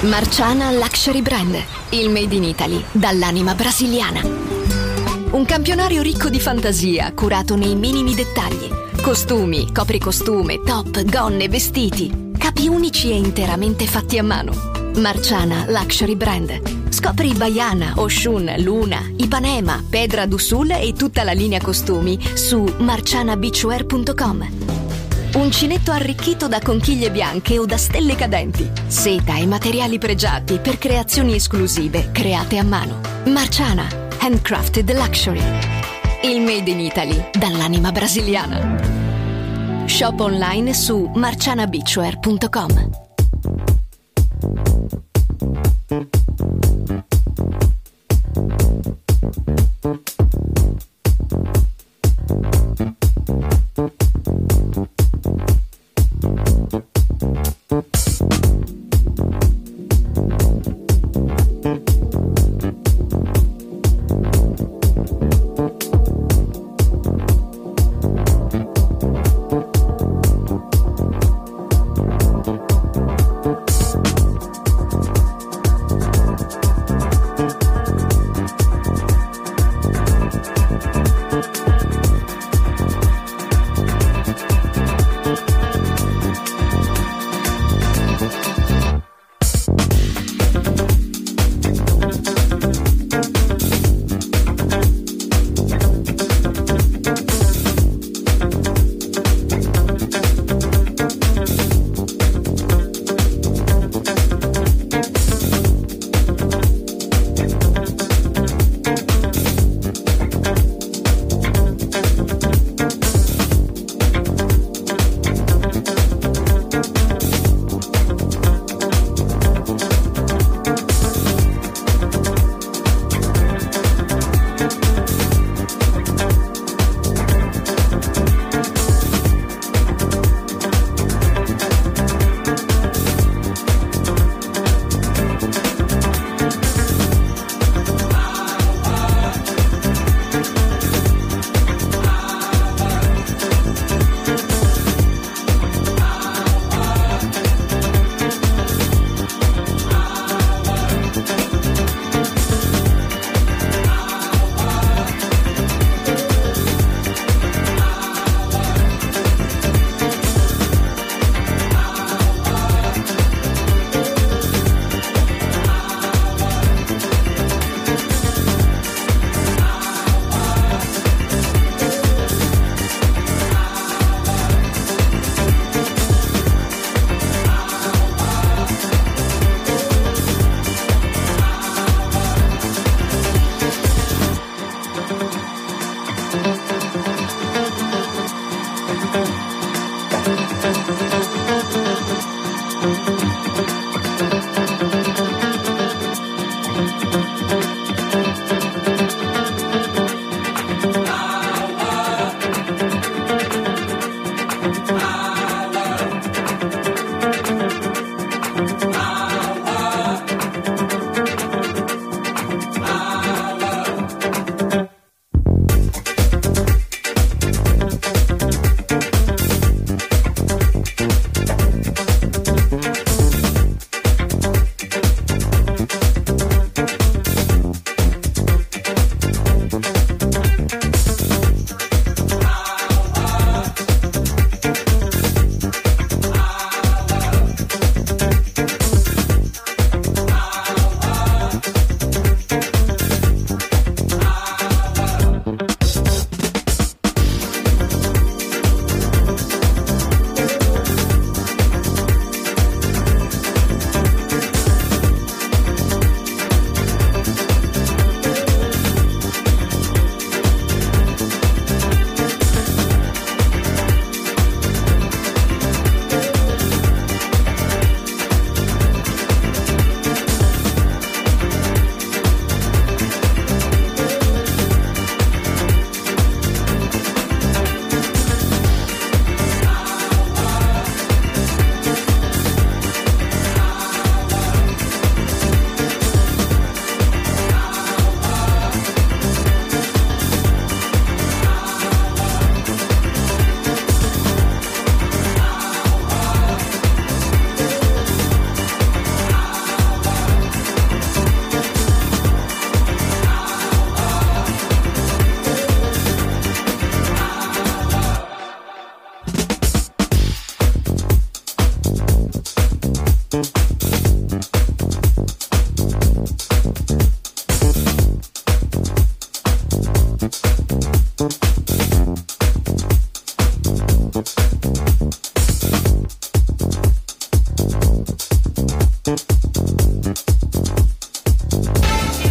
Marciana Luxury Brand, il made in Italy dall'anima brasiliana. Un campionario ricco di fantasia, curato nei minimi dettagli. Costumi, copricostume, top, gonne, vestiti. Capi unici e interamente fatti a mano. Marciana Luxury Brand. Scopri Baiana, Oshun, Luna, Ipanema, Pedra do Sul e tutta la linea costumi su marciana beachwear punto com. Uncinetto arricchito da conchiglie bianche o da stelle cadenti. Seta e materiali pregiati per creazioni esclusive create a mano. Marciana, handcrafted luxury. Il made in Italy dall'anima brasiliana. Shop online su marciana beachwear punto com.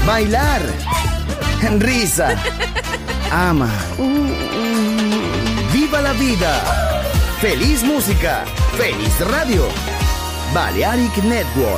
bailar, risa, ama. ¡Viva la vida! ¡Feliz música! ¡Feliz radio! Balearic Network.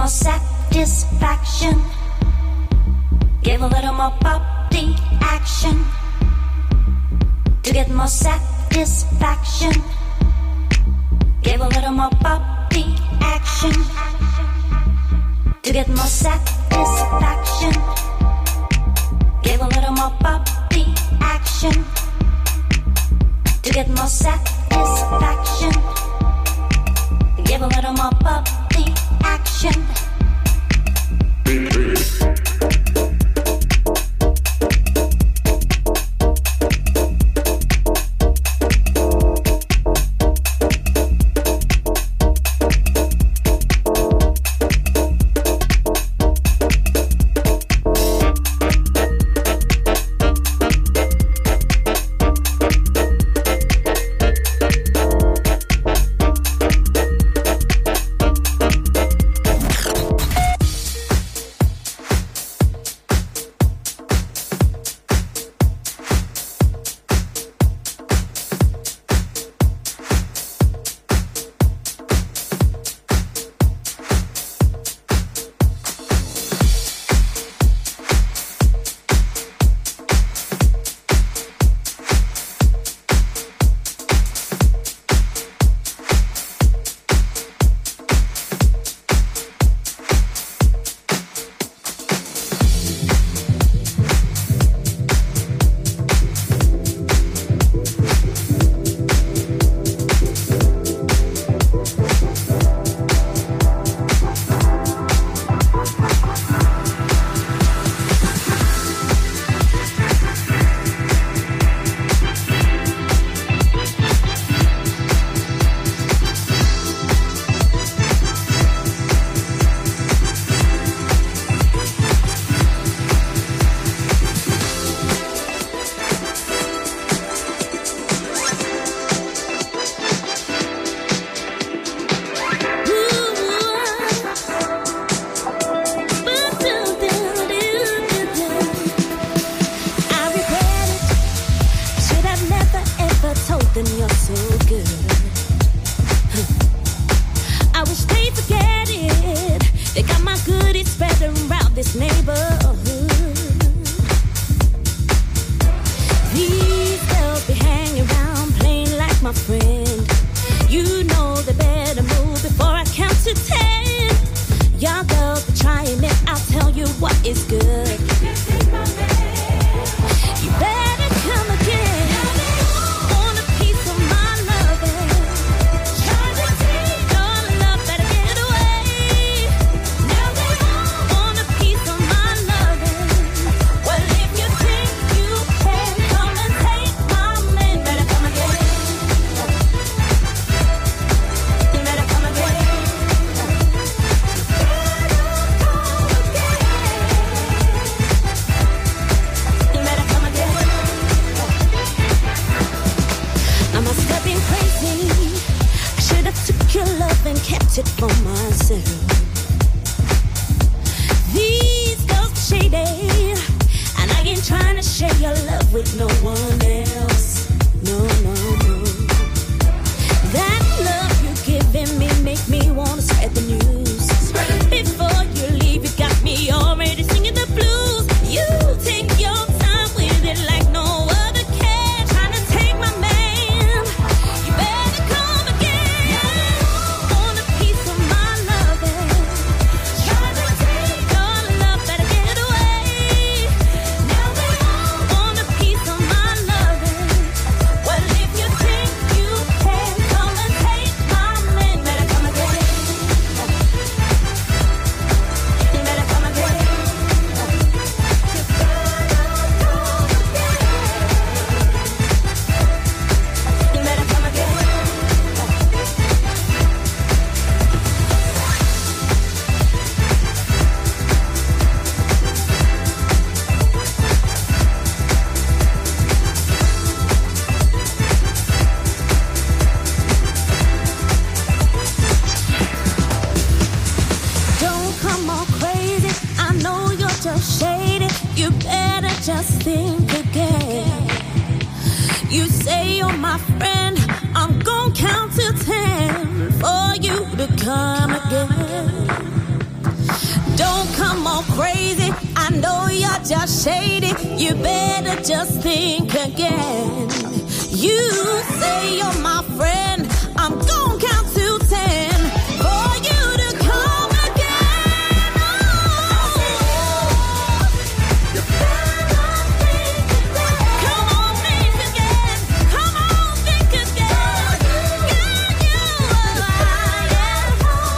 satisfaction. Give a little more body action. To get more satisfaction. Give a little more body action. To get more satisfaction. Give a little more body action. To get more satisfaction. Give a little more body action. Count to ten for you to come again. Don't come all crazy. I know you're just shady. You better just think again. You say you're my friend. I'm gonna count to ten for you to come again. Oh. You better think again. Come on, think again. Come on, think again. Girl, you are lying.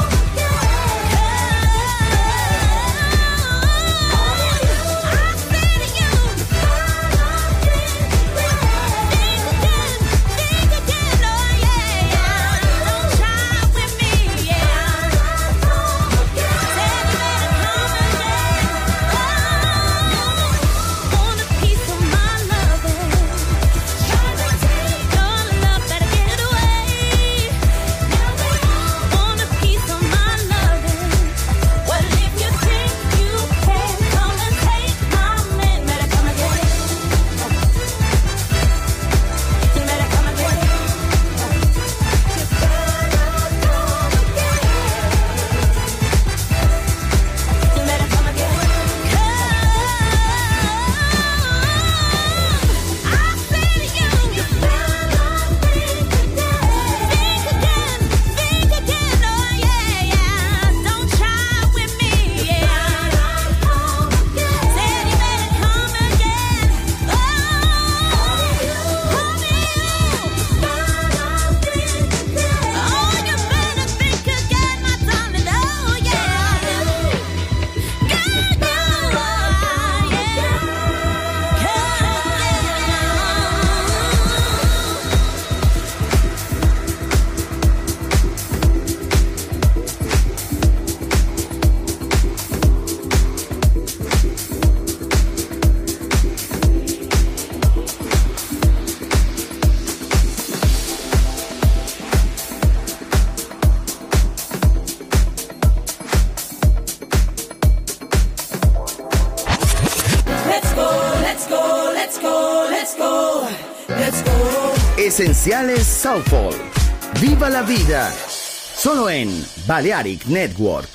Esenciales Soulful. Viva la vida. Solo en Balearic Network.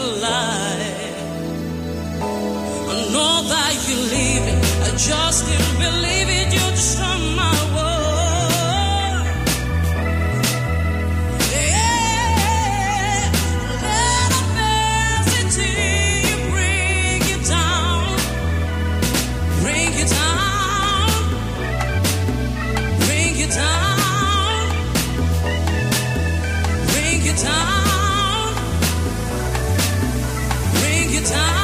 life. I know that you're leaving. I just can't believe it. You destroy my world. Yeah, let adversity bring you down, bring you down, bring you down, bring you down, bring you down.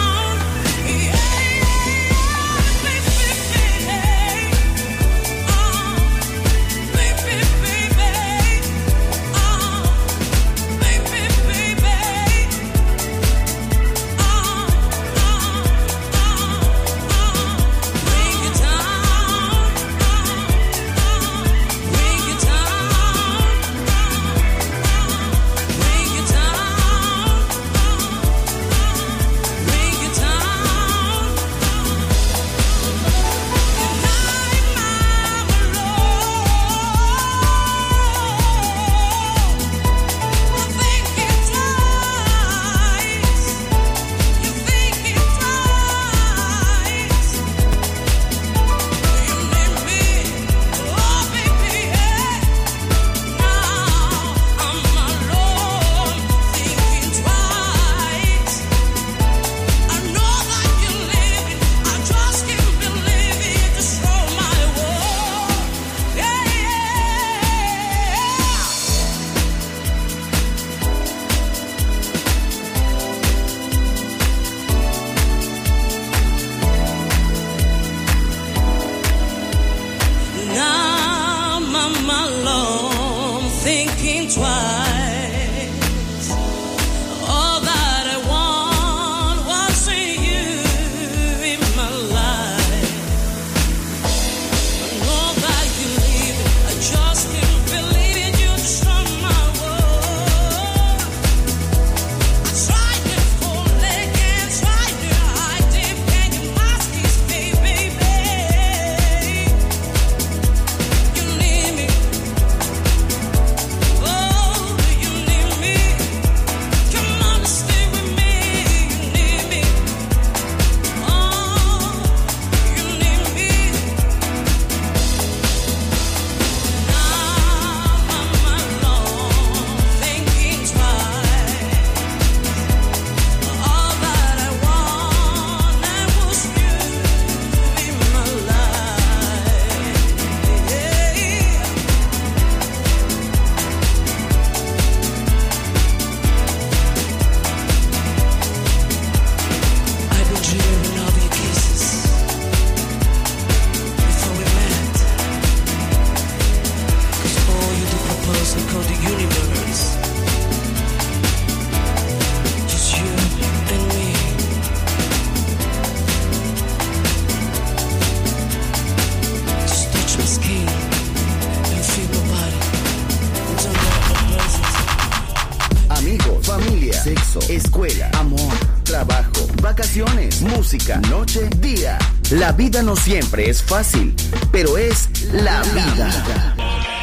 Música, noche, día. La vida no siempre es fácil, pero es la vida.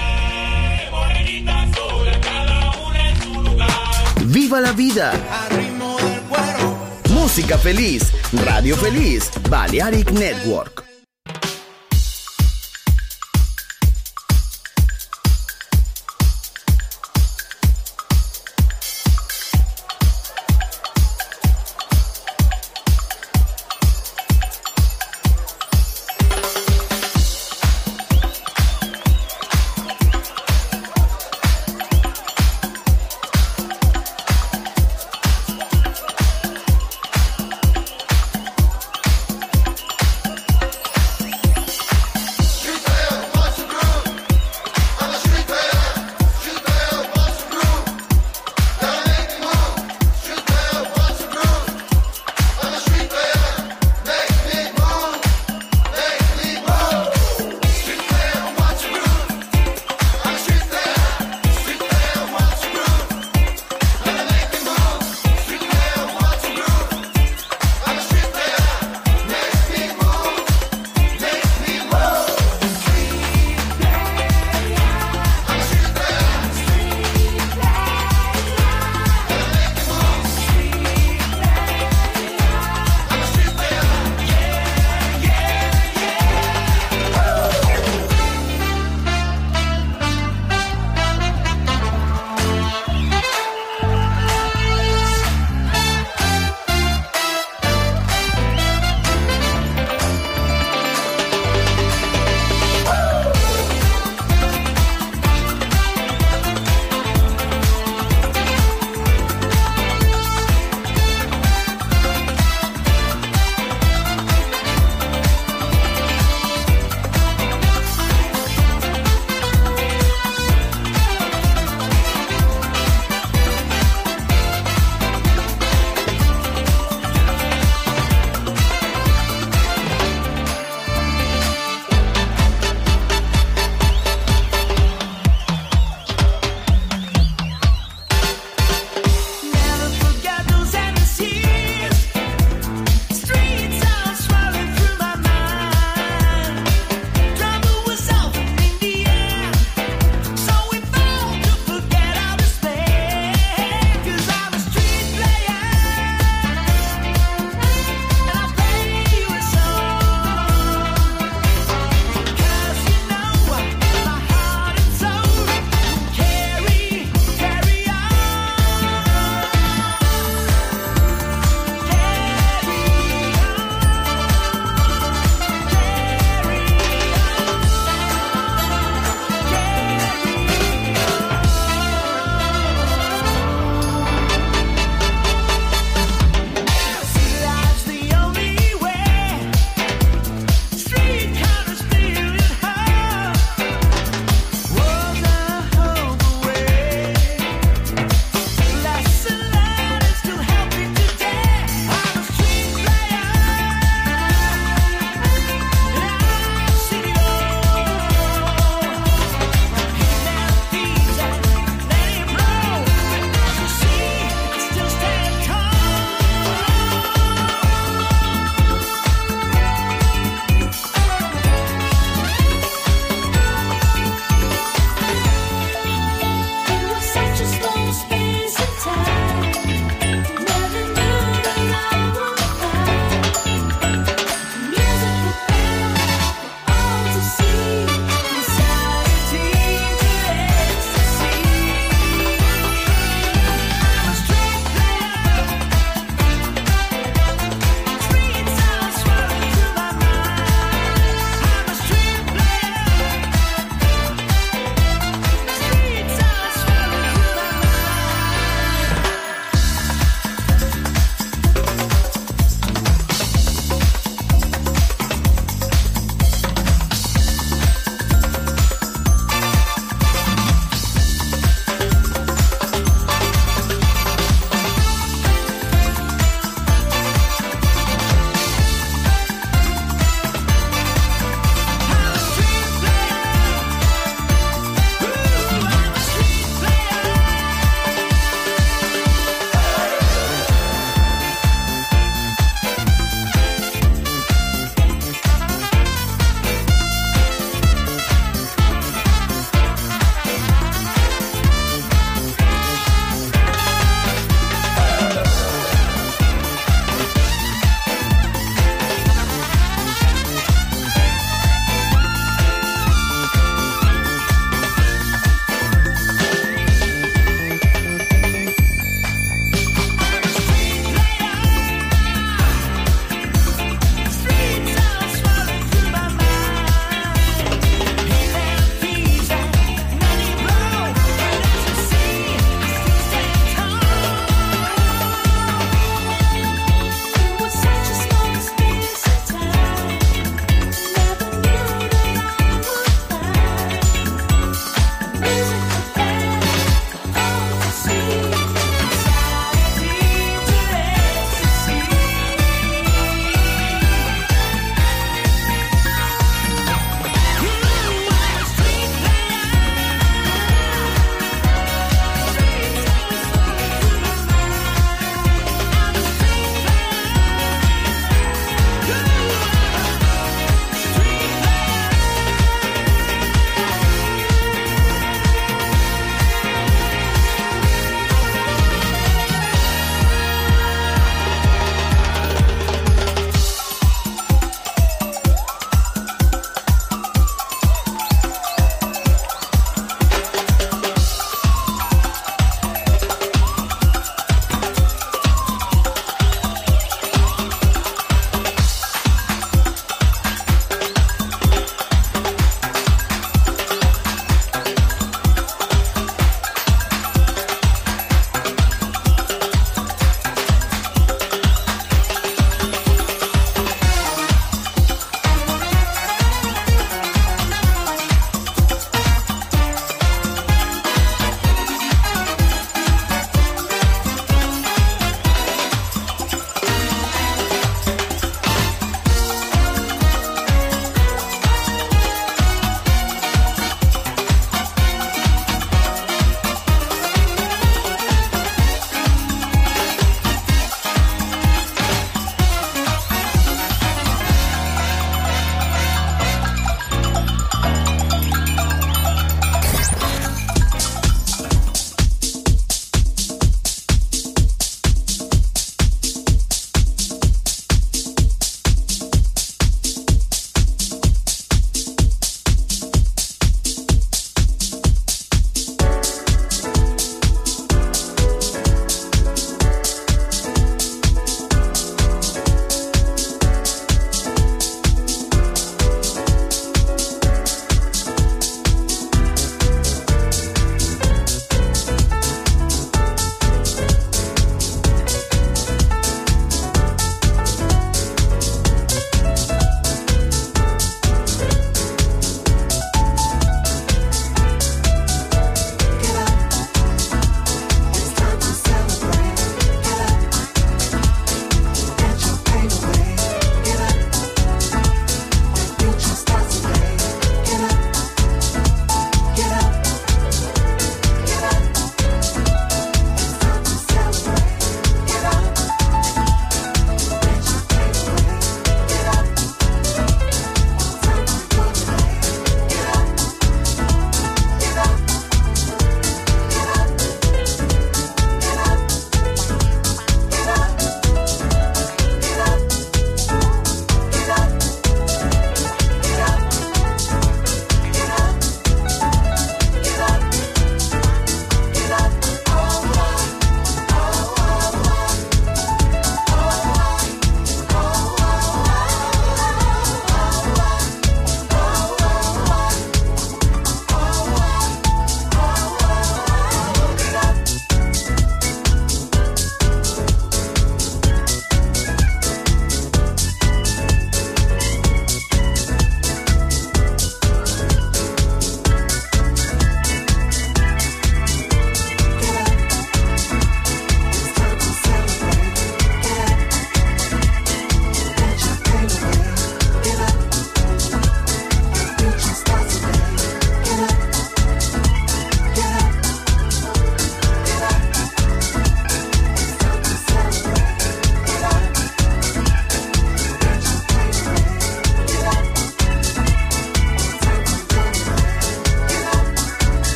¡Viva la vida! Música feliz, Radio Feliz, Balearic Network.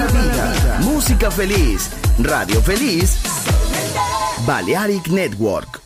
la vida. Música feliz. Radio Feliz. Balearic Network.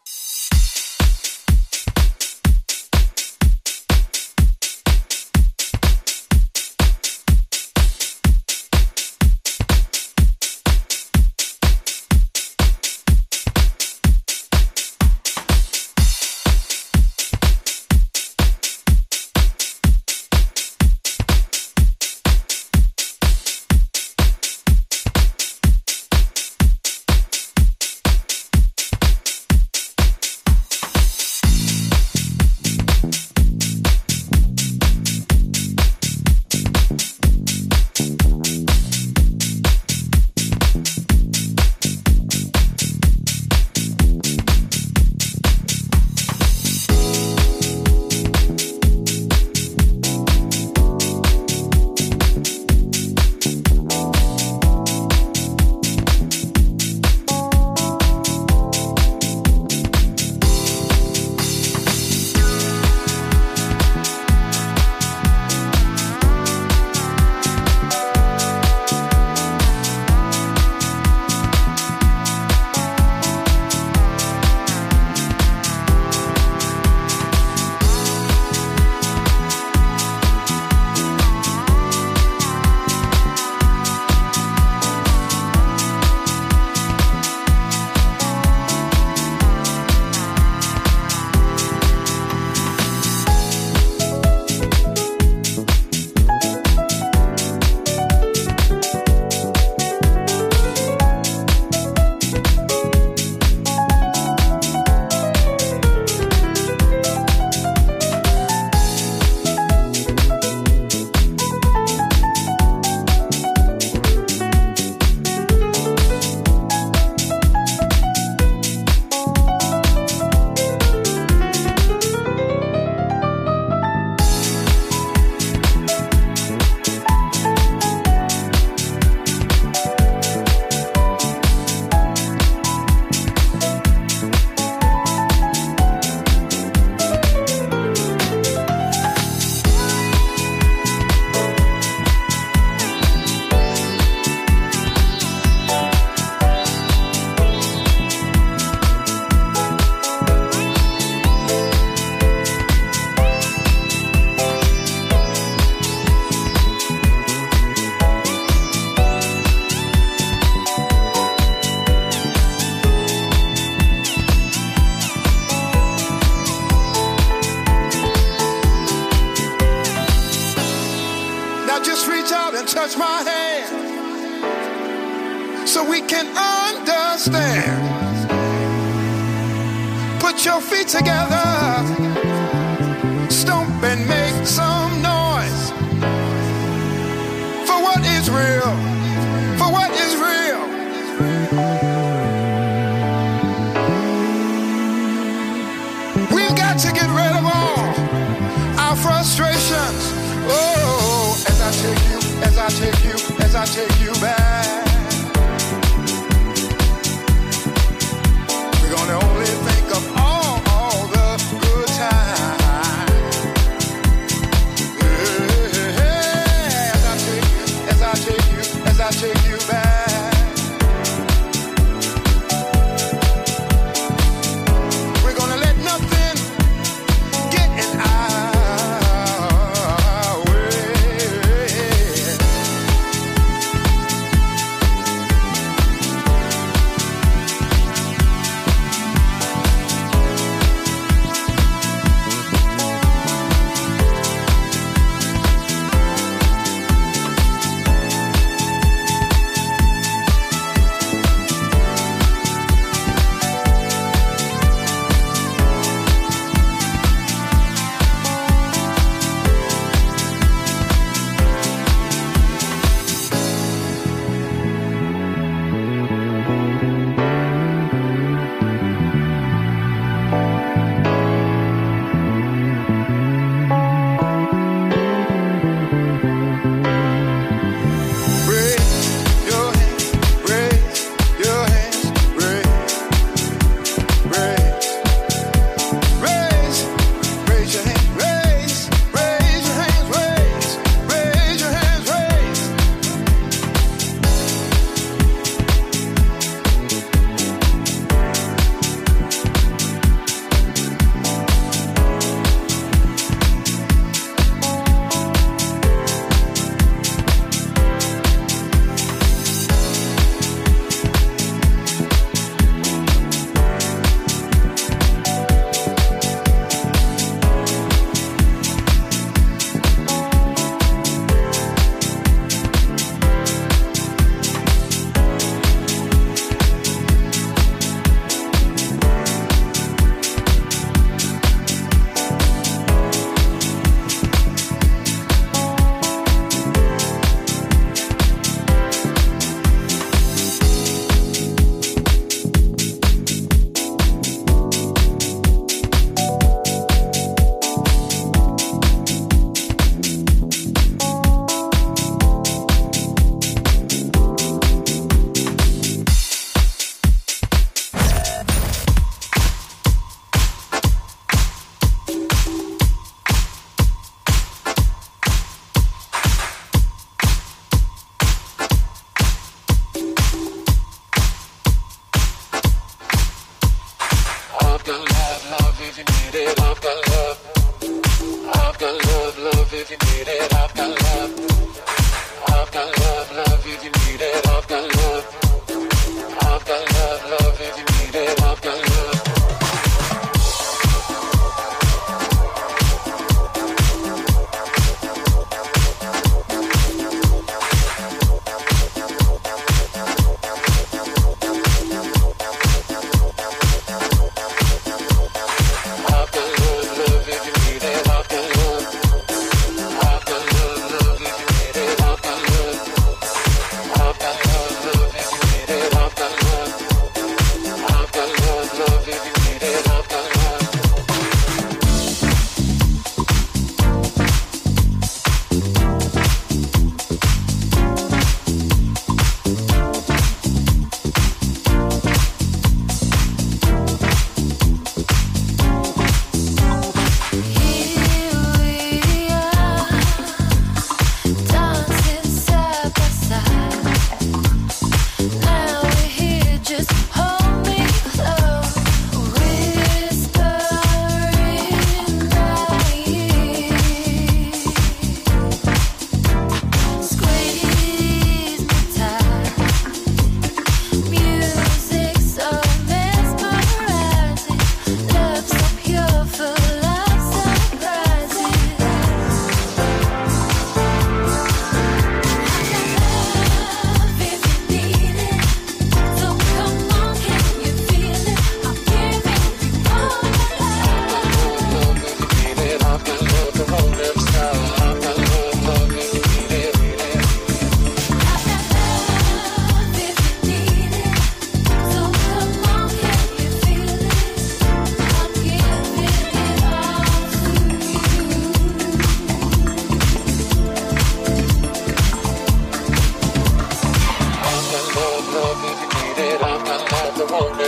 touch my hand so we can understand. Put your feet together, stomp and make some noise for what is real, for what is real. We've got to get rid of all our frustrations. Oh, as I take you, as I take you, as I take you back, we're gonna only think of all, all the good times. Yeah, as I take you, as I take you, as I take you back, we're gonna let nothing get in our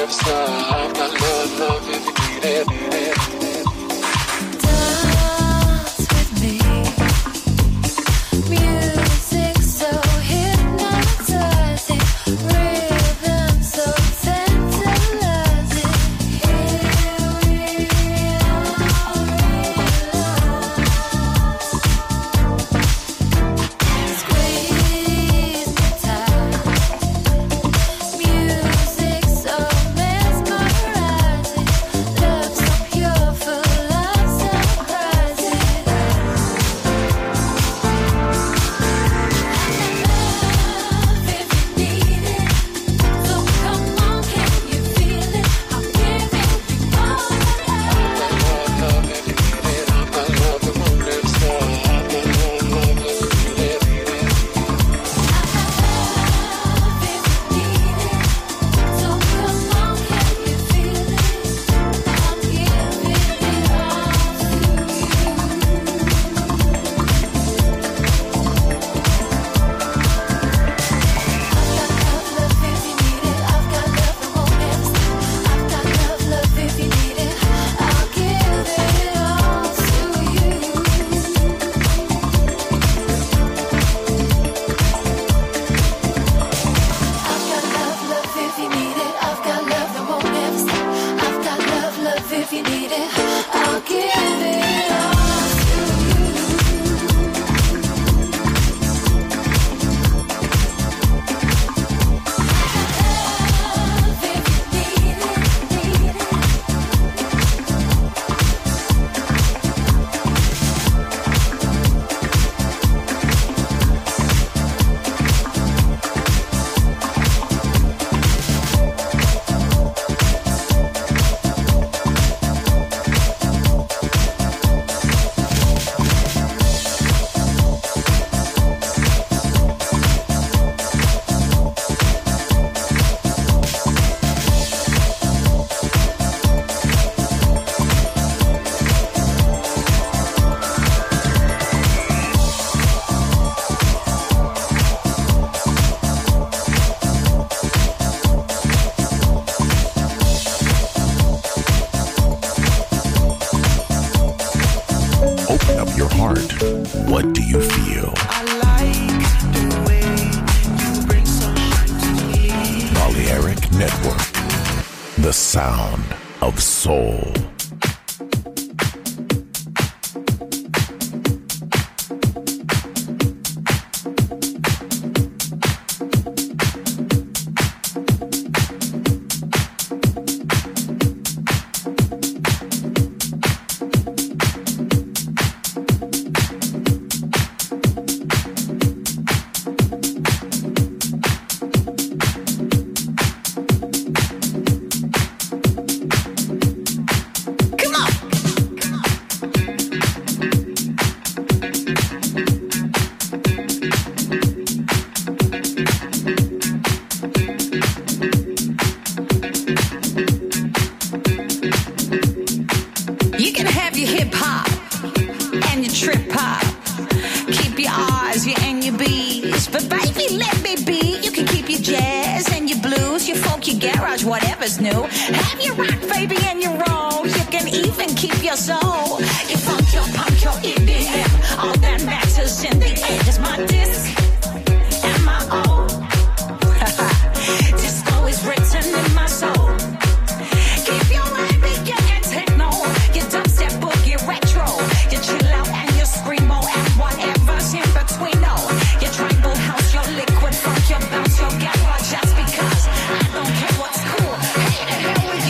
never stop. I've got love, love if you need it, need it. Dance with me. Music so hypnotizing, rhythm so tantalizing. Here we are, squeeze me tight. Music so mesmerizing, love so pure, full of surprises. Love if you need it, so come on, can you feel it? I'm giving you all the love. Love if you need it. I've got love that won't never stop. I've got love, love if you need it, need it. Love if you need it, so come on, can you feel it? I'm giving it all to I've got love, love if you need it. I've got love that won't never stop. I've got love, love if you need it. I'll give it all to you. I've got love, love if you need it. I've got love that won't never stop. I've got love, love if you need it. I'll give it all to you. Love if you need it, need it. Open up your heart. What do you feel? I like the way you bring sunshine to me. Balearic Network. The sound of soul. You can have your hip hop and your trip hop. Keep your R's, your and your B's. But baby, let me be. You can keep your jazz and your blues, your folk, your garage, whatever's new. Have your rock, baby, and your roll. You can even keep your soul. Your funk, your punk, your E D M. All that matters in the end is my disc and my own. Disco is written in my soul. Keep your R and B, your and techno, your dubstep, boogie, retro, your chill out and your screamo and whatever's in between. Oh, your tribal house, your liquid funk, your bounce, your garage. Just because I don't care what's cool. Hey, the hell with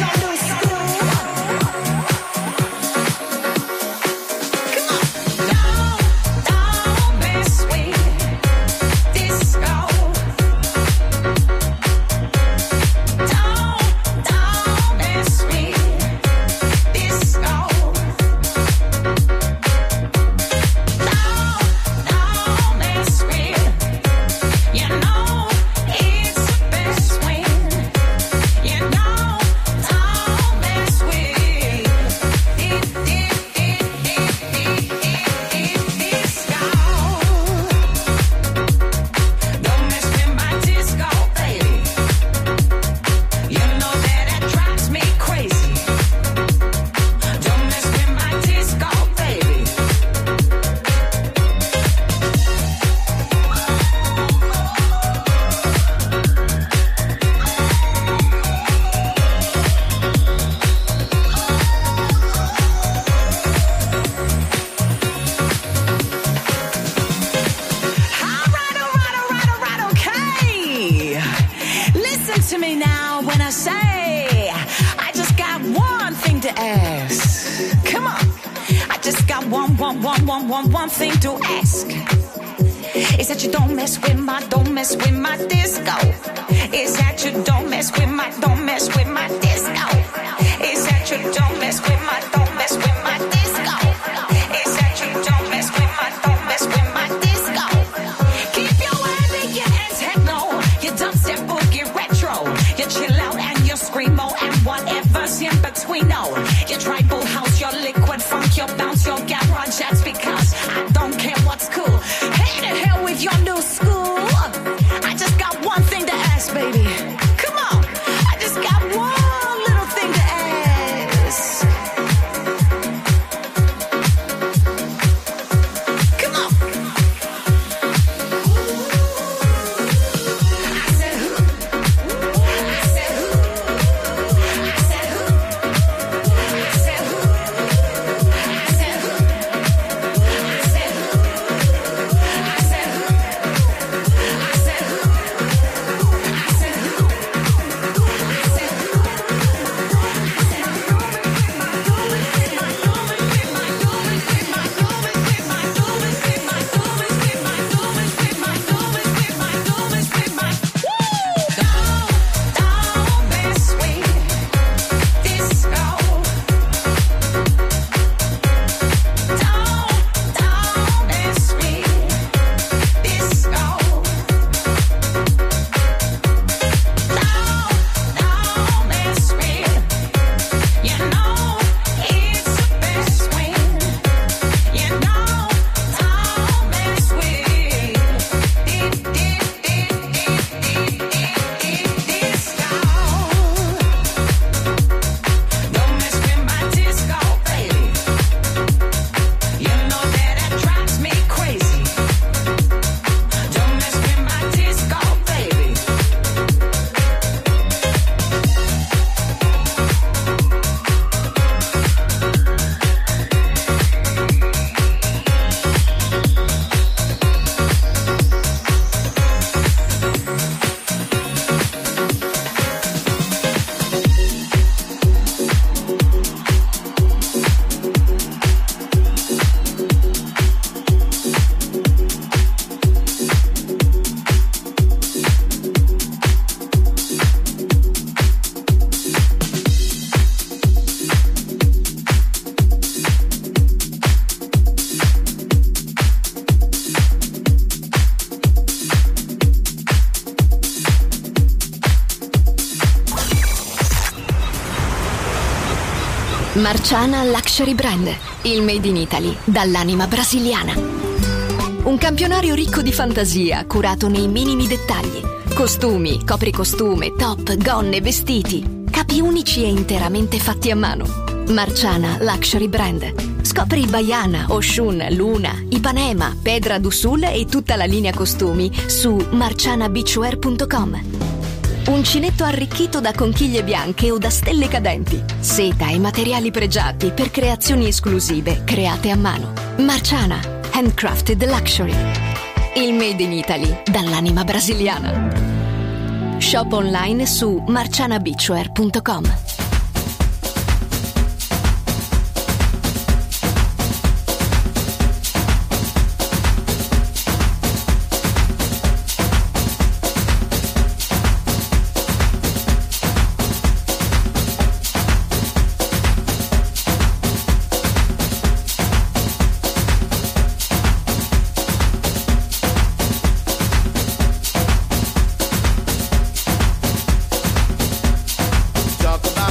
to me now when I say I just got one thing to ask. Come on, I just got one, one, one, one, one, one thing to ask. Is that you don't mess with my, don't mess with my disco. Is that you don't mess with my, don't mess with my disco. Is that you don't mess with my, don't mess with my disco. Is that you don't mess with my, don't mess with my disco. Keep your heavy, your ass techno, your dubstep boogie retro. You chill out and you screamo and whatever's in between. No, your tribal house, your liquid funk, your bounce, your garage. That's because I don't care what's cool. Hey to hell with your new school. I just got one thing to ask, baby. Come on, I just got one little thing to ask. Come on. I said who? I said who? I said who? I said who? I said who? I said who? I said who? I said who? I said who? Don't mess with disco. Don't, don't mess with disco. Don't, don't mess with. You know it's the best when. You know, don't mess with. Did, did, did, did, did, did, did, disco. Don't mess with my disco, baby. You know that it drives me crazy. Don't mess with my disco, baby. Marciana Luxury Brand, il made in Italy dall'anima brasiliana. Un campionario ricco di fantasia, curato nei minimi dettagli. Costumi, copricostume, top, gonne, vestiti. Capi unici e interamente fatti a mano. Marciana Luxury Brand. Scopri Baiana, Oshun, Luna, Ipanema, Pedra do Sul e tutta la linea costumi su marciana beachwear punto com. Uncinetto arricchito da conchiglie bianche o da stelle cadenti. Seta e materiali pregiati per creazioni esclusive create a mano. Marciana, handcrafted luxury. Il made in Italy dall'anima brasiliana. Shop online su marciana beachwear punto com. Talk about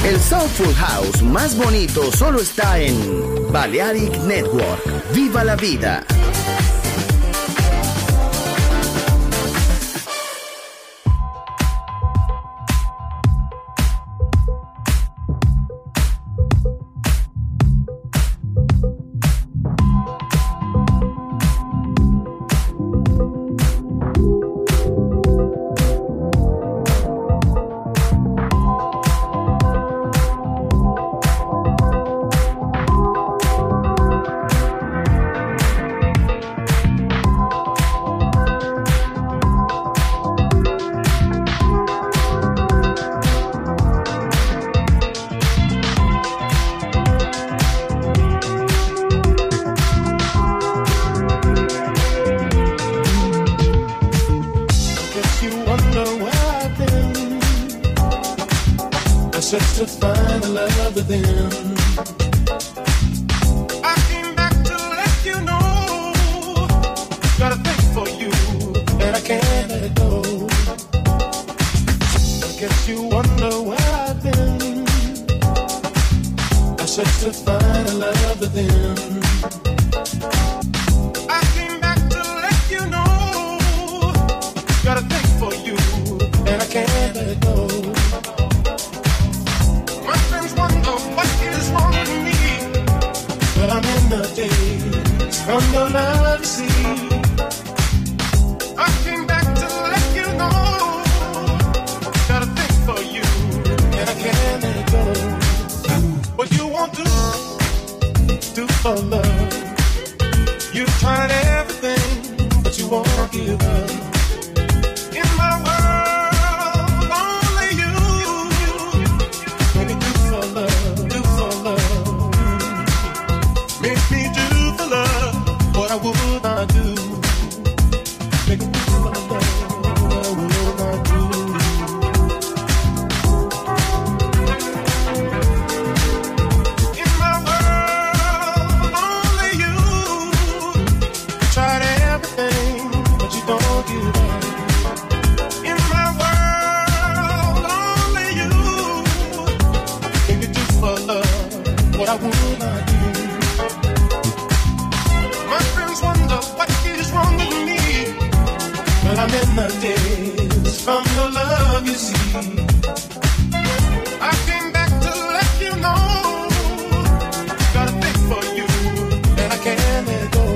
El Soulful House más bonito solo está en Balearic Network. ¡Viva la vida! search to find the love within. I came back to let you know, got a thing for you, and I can't let it go. I guess you wonder where I've been. I search to find the love within. I came back to let you know, got a thing for you, and I can't let it go. My friends wonder what is wrong with me, but I'm in the days from your love to see. I came back to let you know, got a thing for you, and I can't let it go. What you won't do, do for love. You've tried everything, but you won't give up. In my world, only you. Baby, do for love, do for love. Make me do for love what I would not do. Make me do for love what I would not do. In my world, only you. Tried everything, but you don't give up. In my world, only you. Can you do for love what I would not do? My friends wonder what is wrong with me, but I'm in the days from your love, you see. I came back to let you know, got a thing for you, and I can't let go.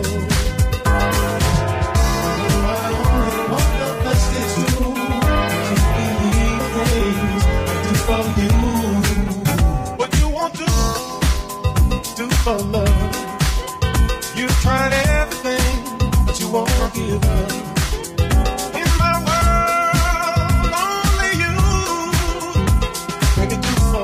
I only want the best is you. Can't believe things I do for you. What you want to do for love? You've tried everything, but you won't give up. In my world, only you. Baby, do for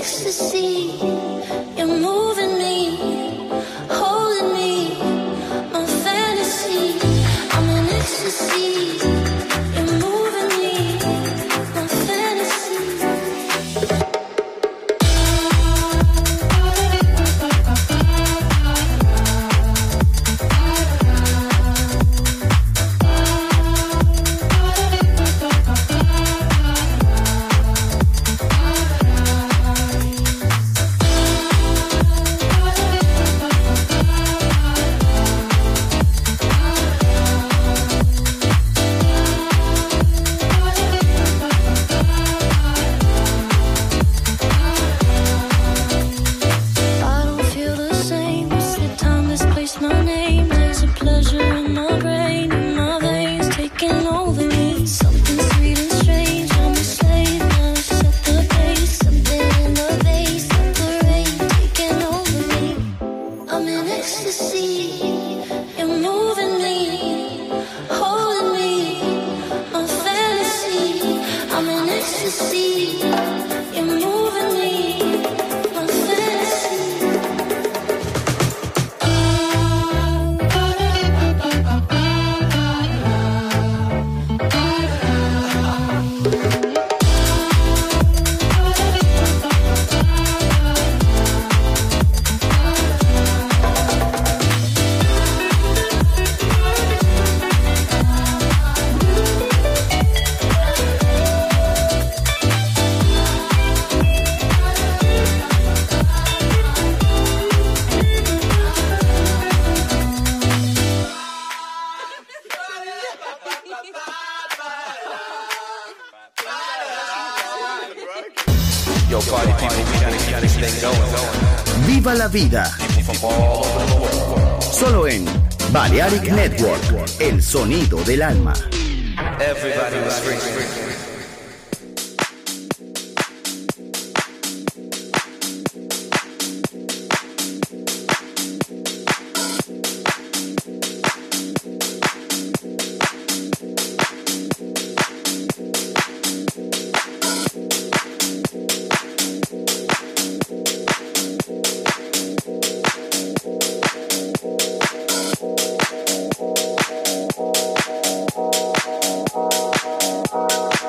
ecstasy. You're moving me, holding me, my fantasy. I'm in ecstasy. You're moving me, my fantasy. I don't feel the same. It's the time misplaced my name. There's a pleasure in my brain, in my veins, taking over me. Something sweet and strange. I'm a slave now. Set the pace. Something in the vase, like the rain, taking over me. I'm in ecstasy. You're moving me, holding me, my fantasy. I'm in ecstasy. You're moving me, my fantasy. Yo, party people, we gotta keep this thing going. Viva la vida. Solo en Balearic Network, el sonido del alma. Everybody was free, free, free. Thank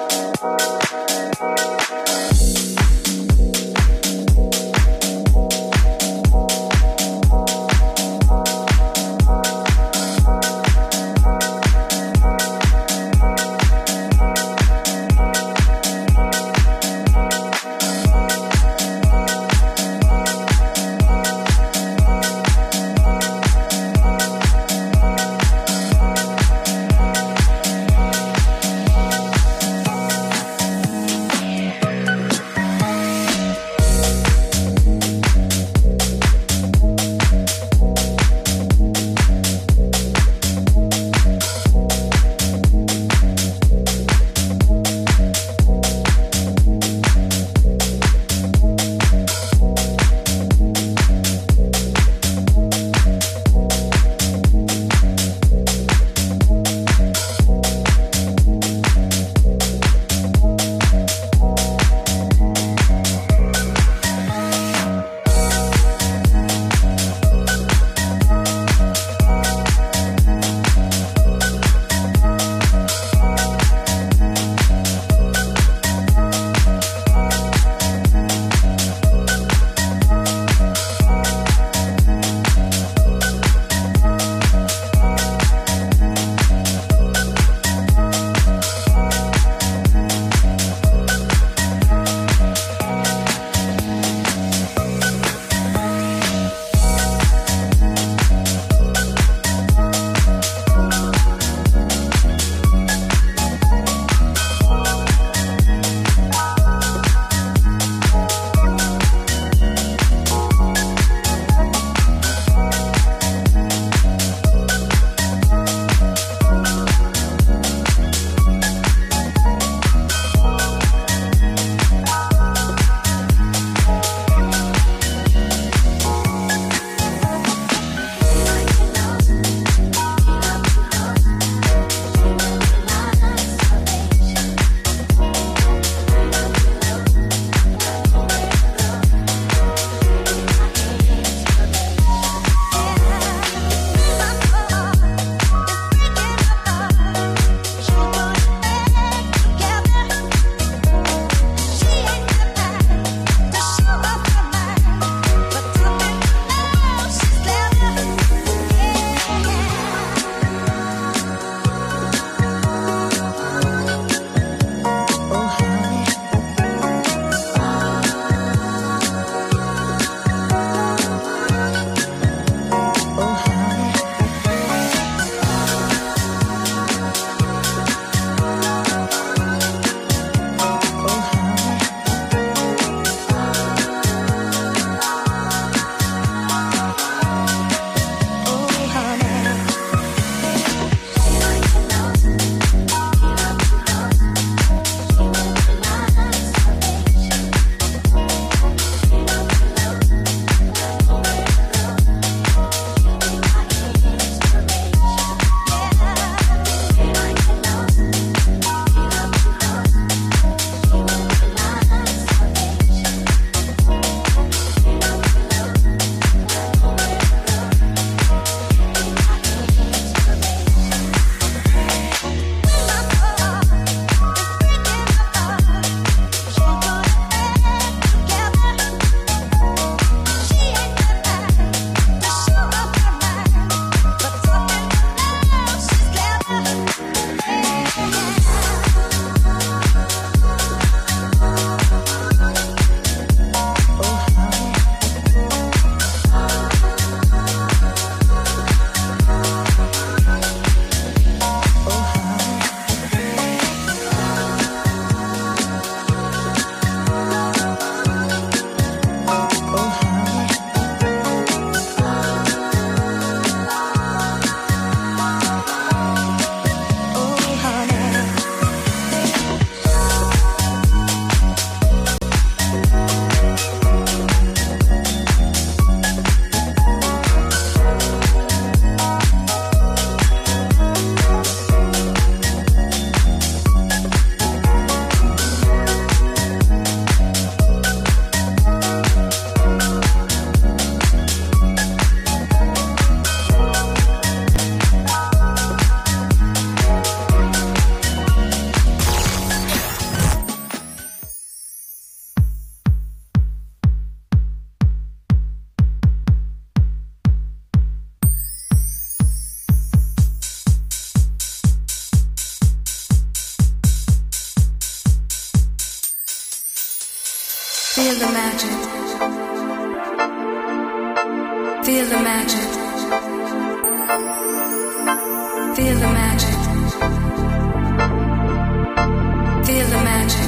Feel the magic. Feel the magic. Feel the magic. Feel the magic.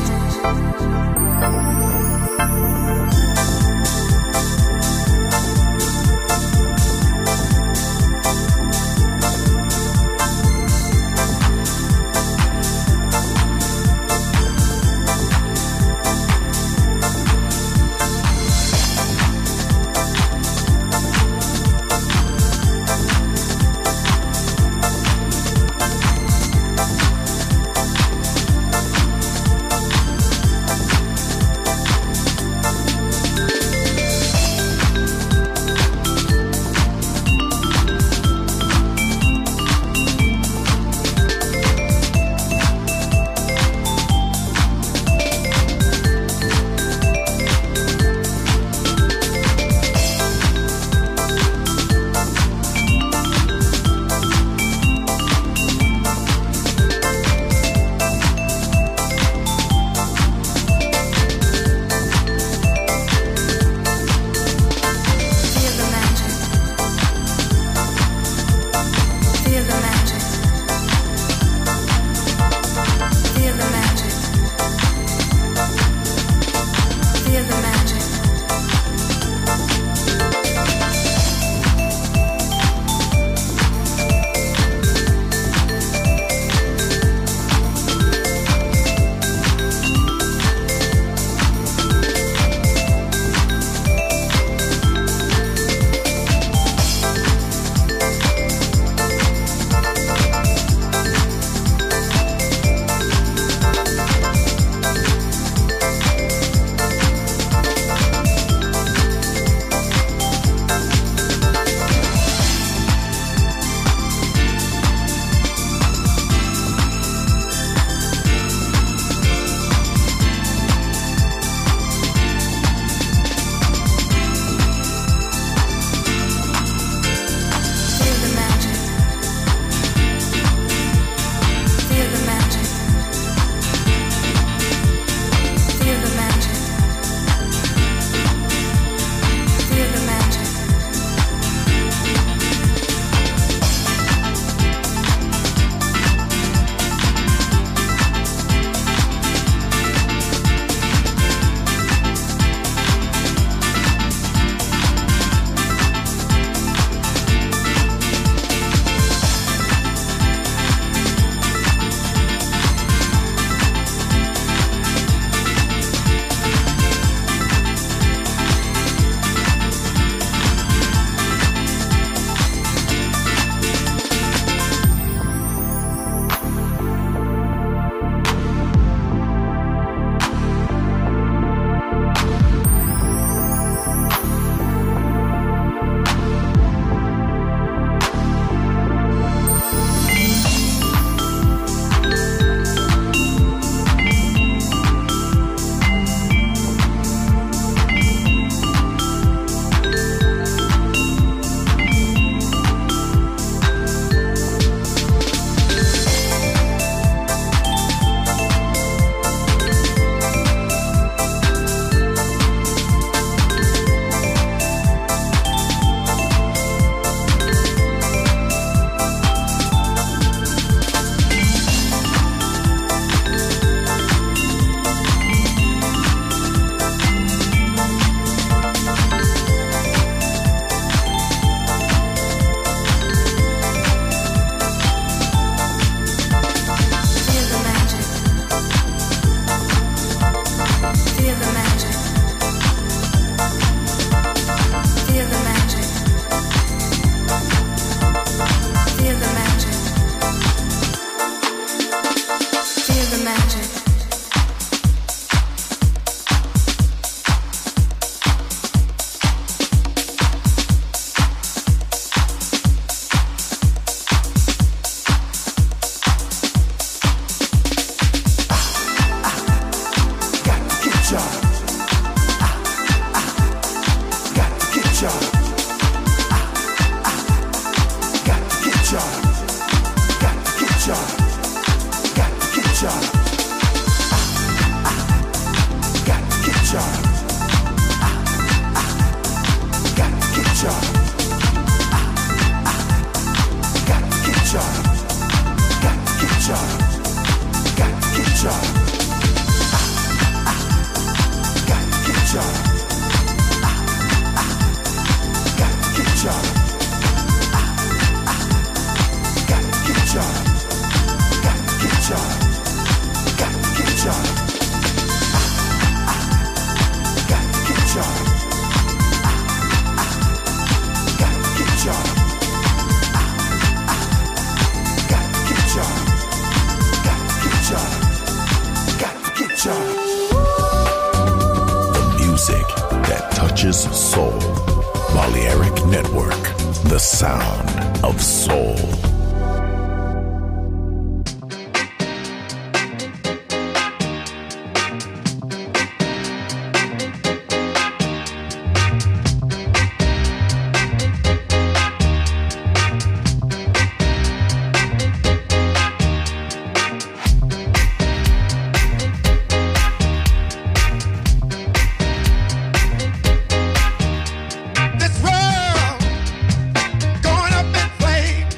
touches soul. Balearic Network, the sound of soul. This world going up in flames.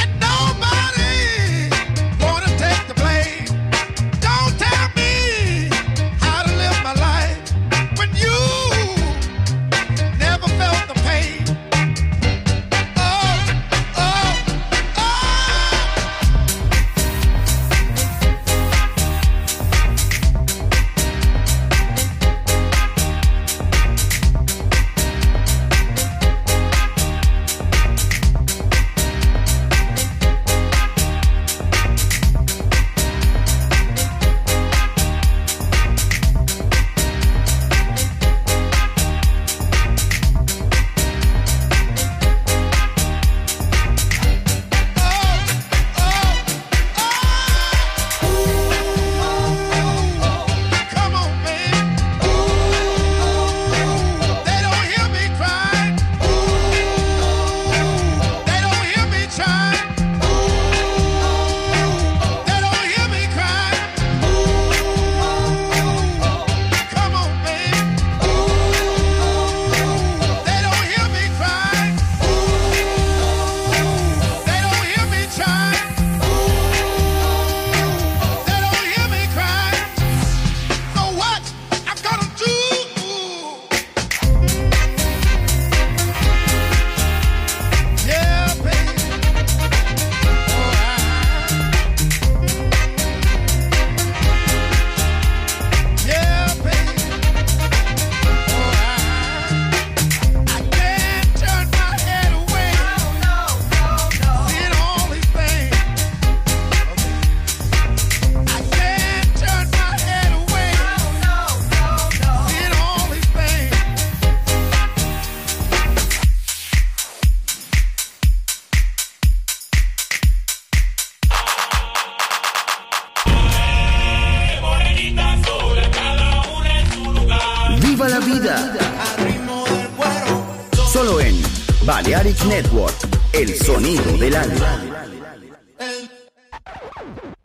¡Viva la vida! Solo en Balearic Network, el sonido del alma.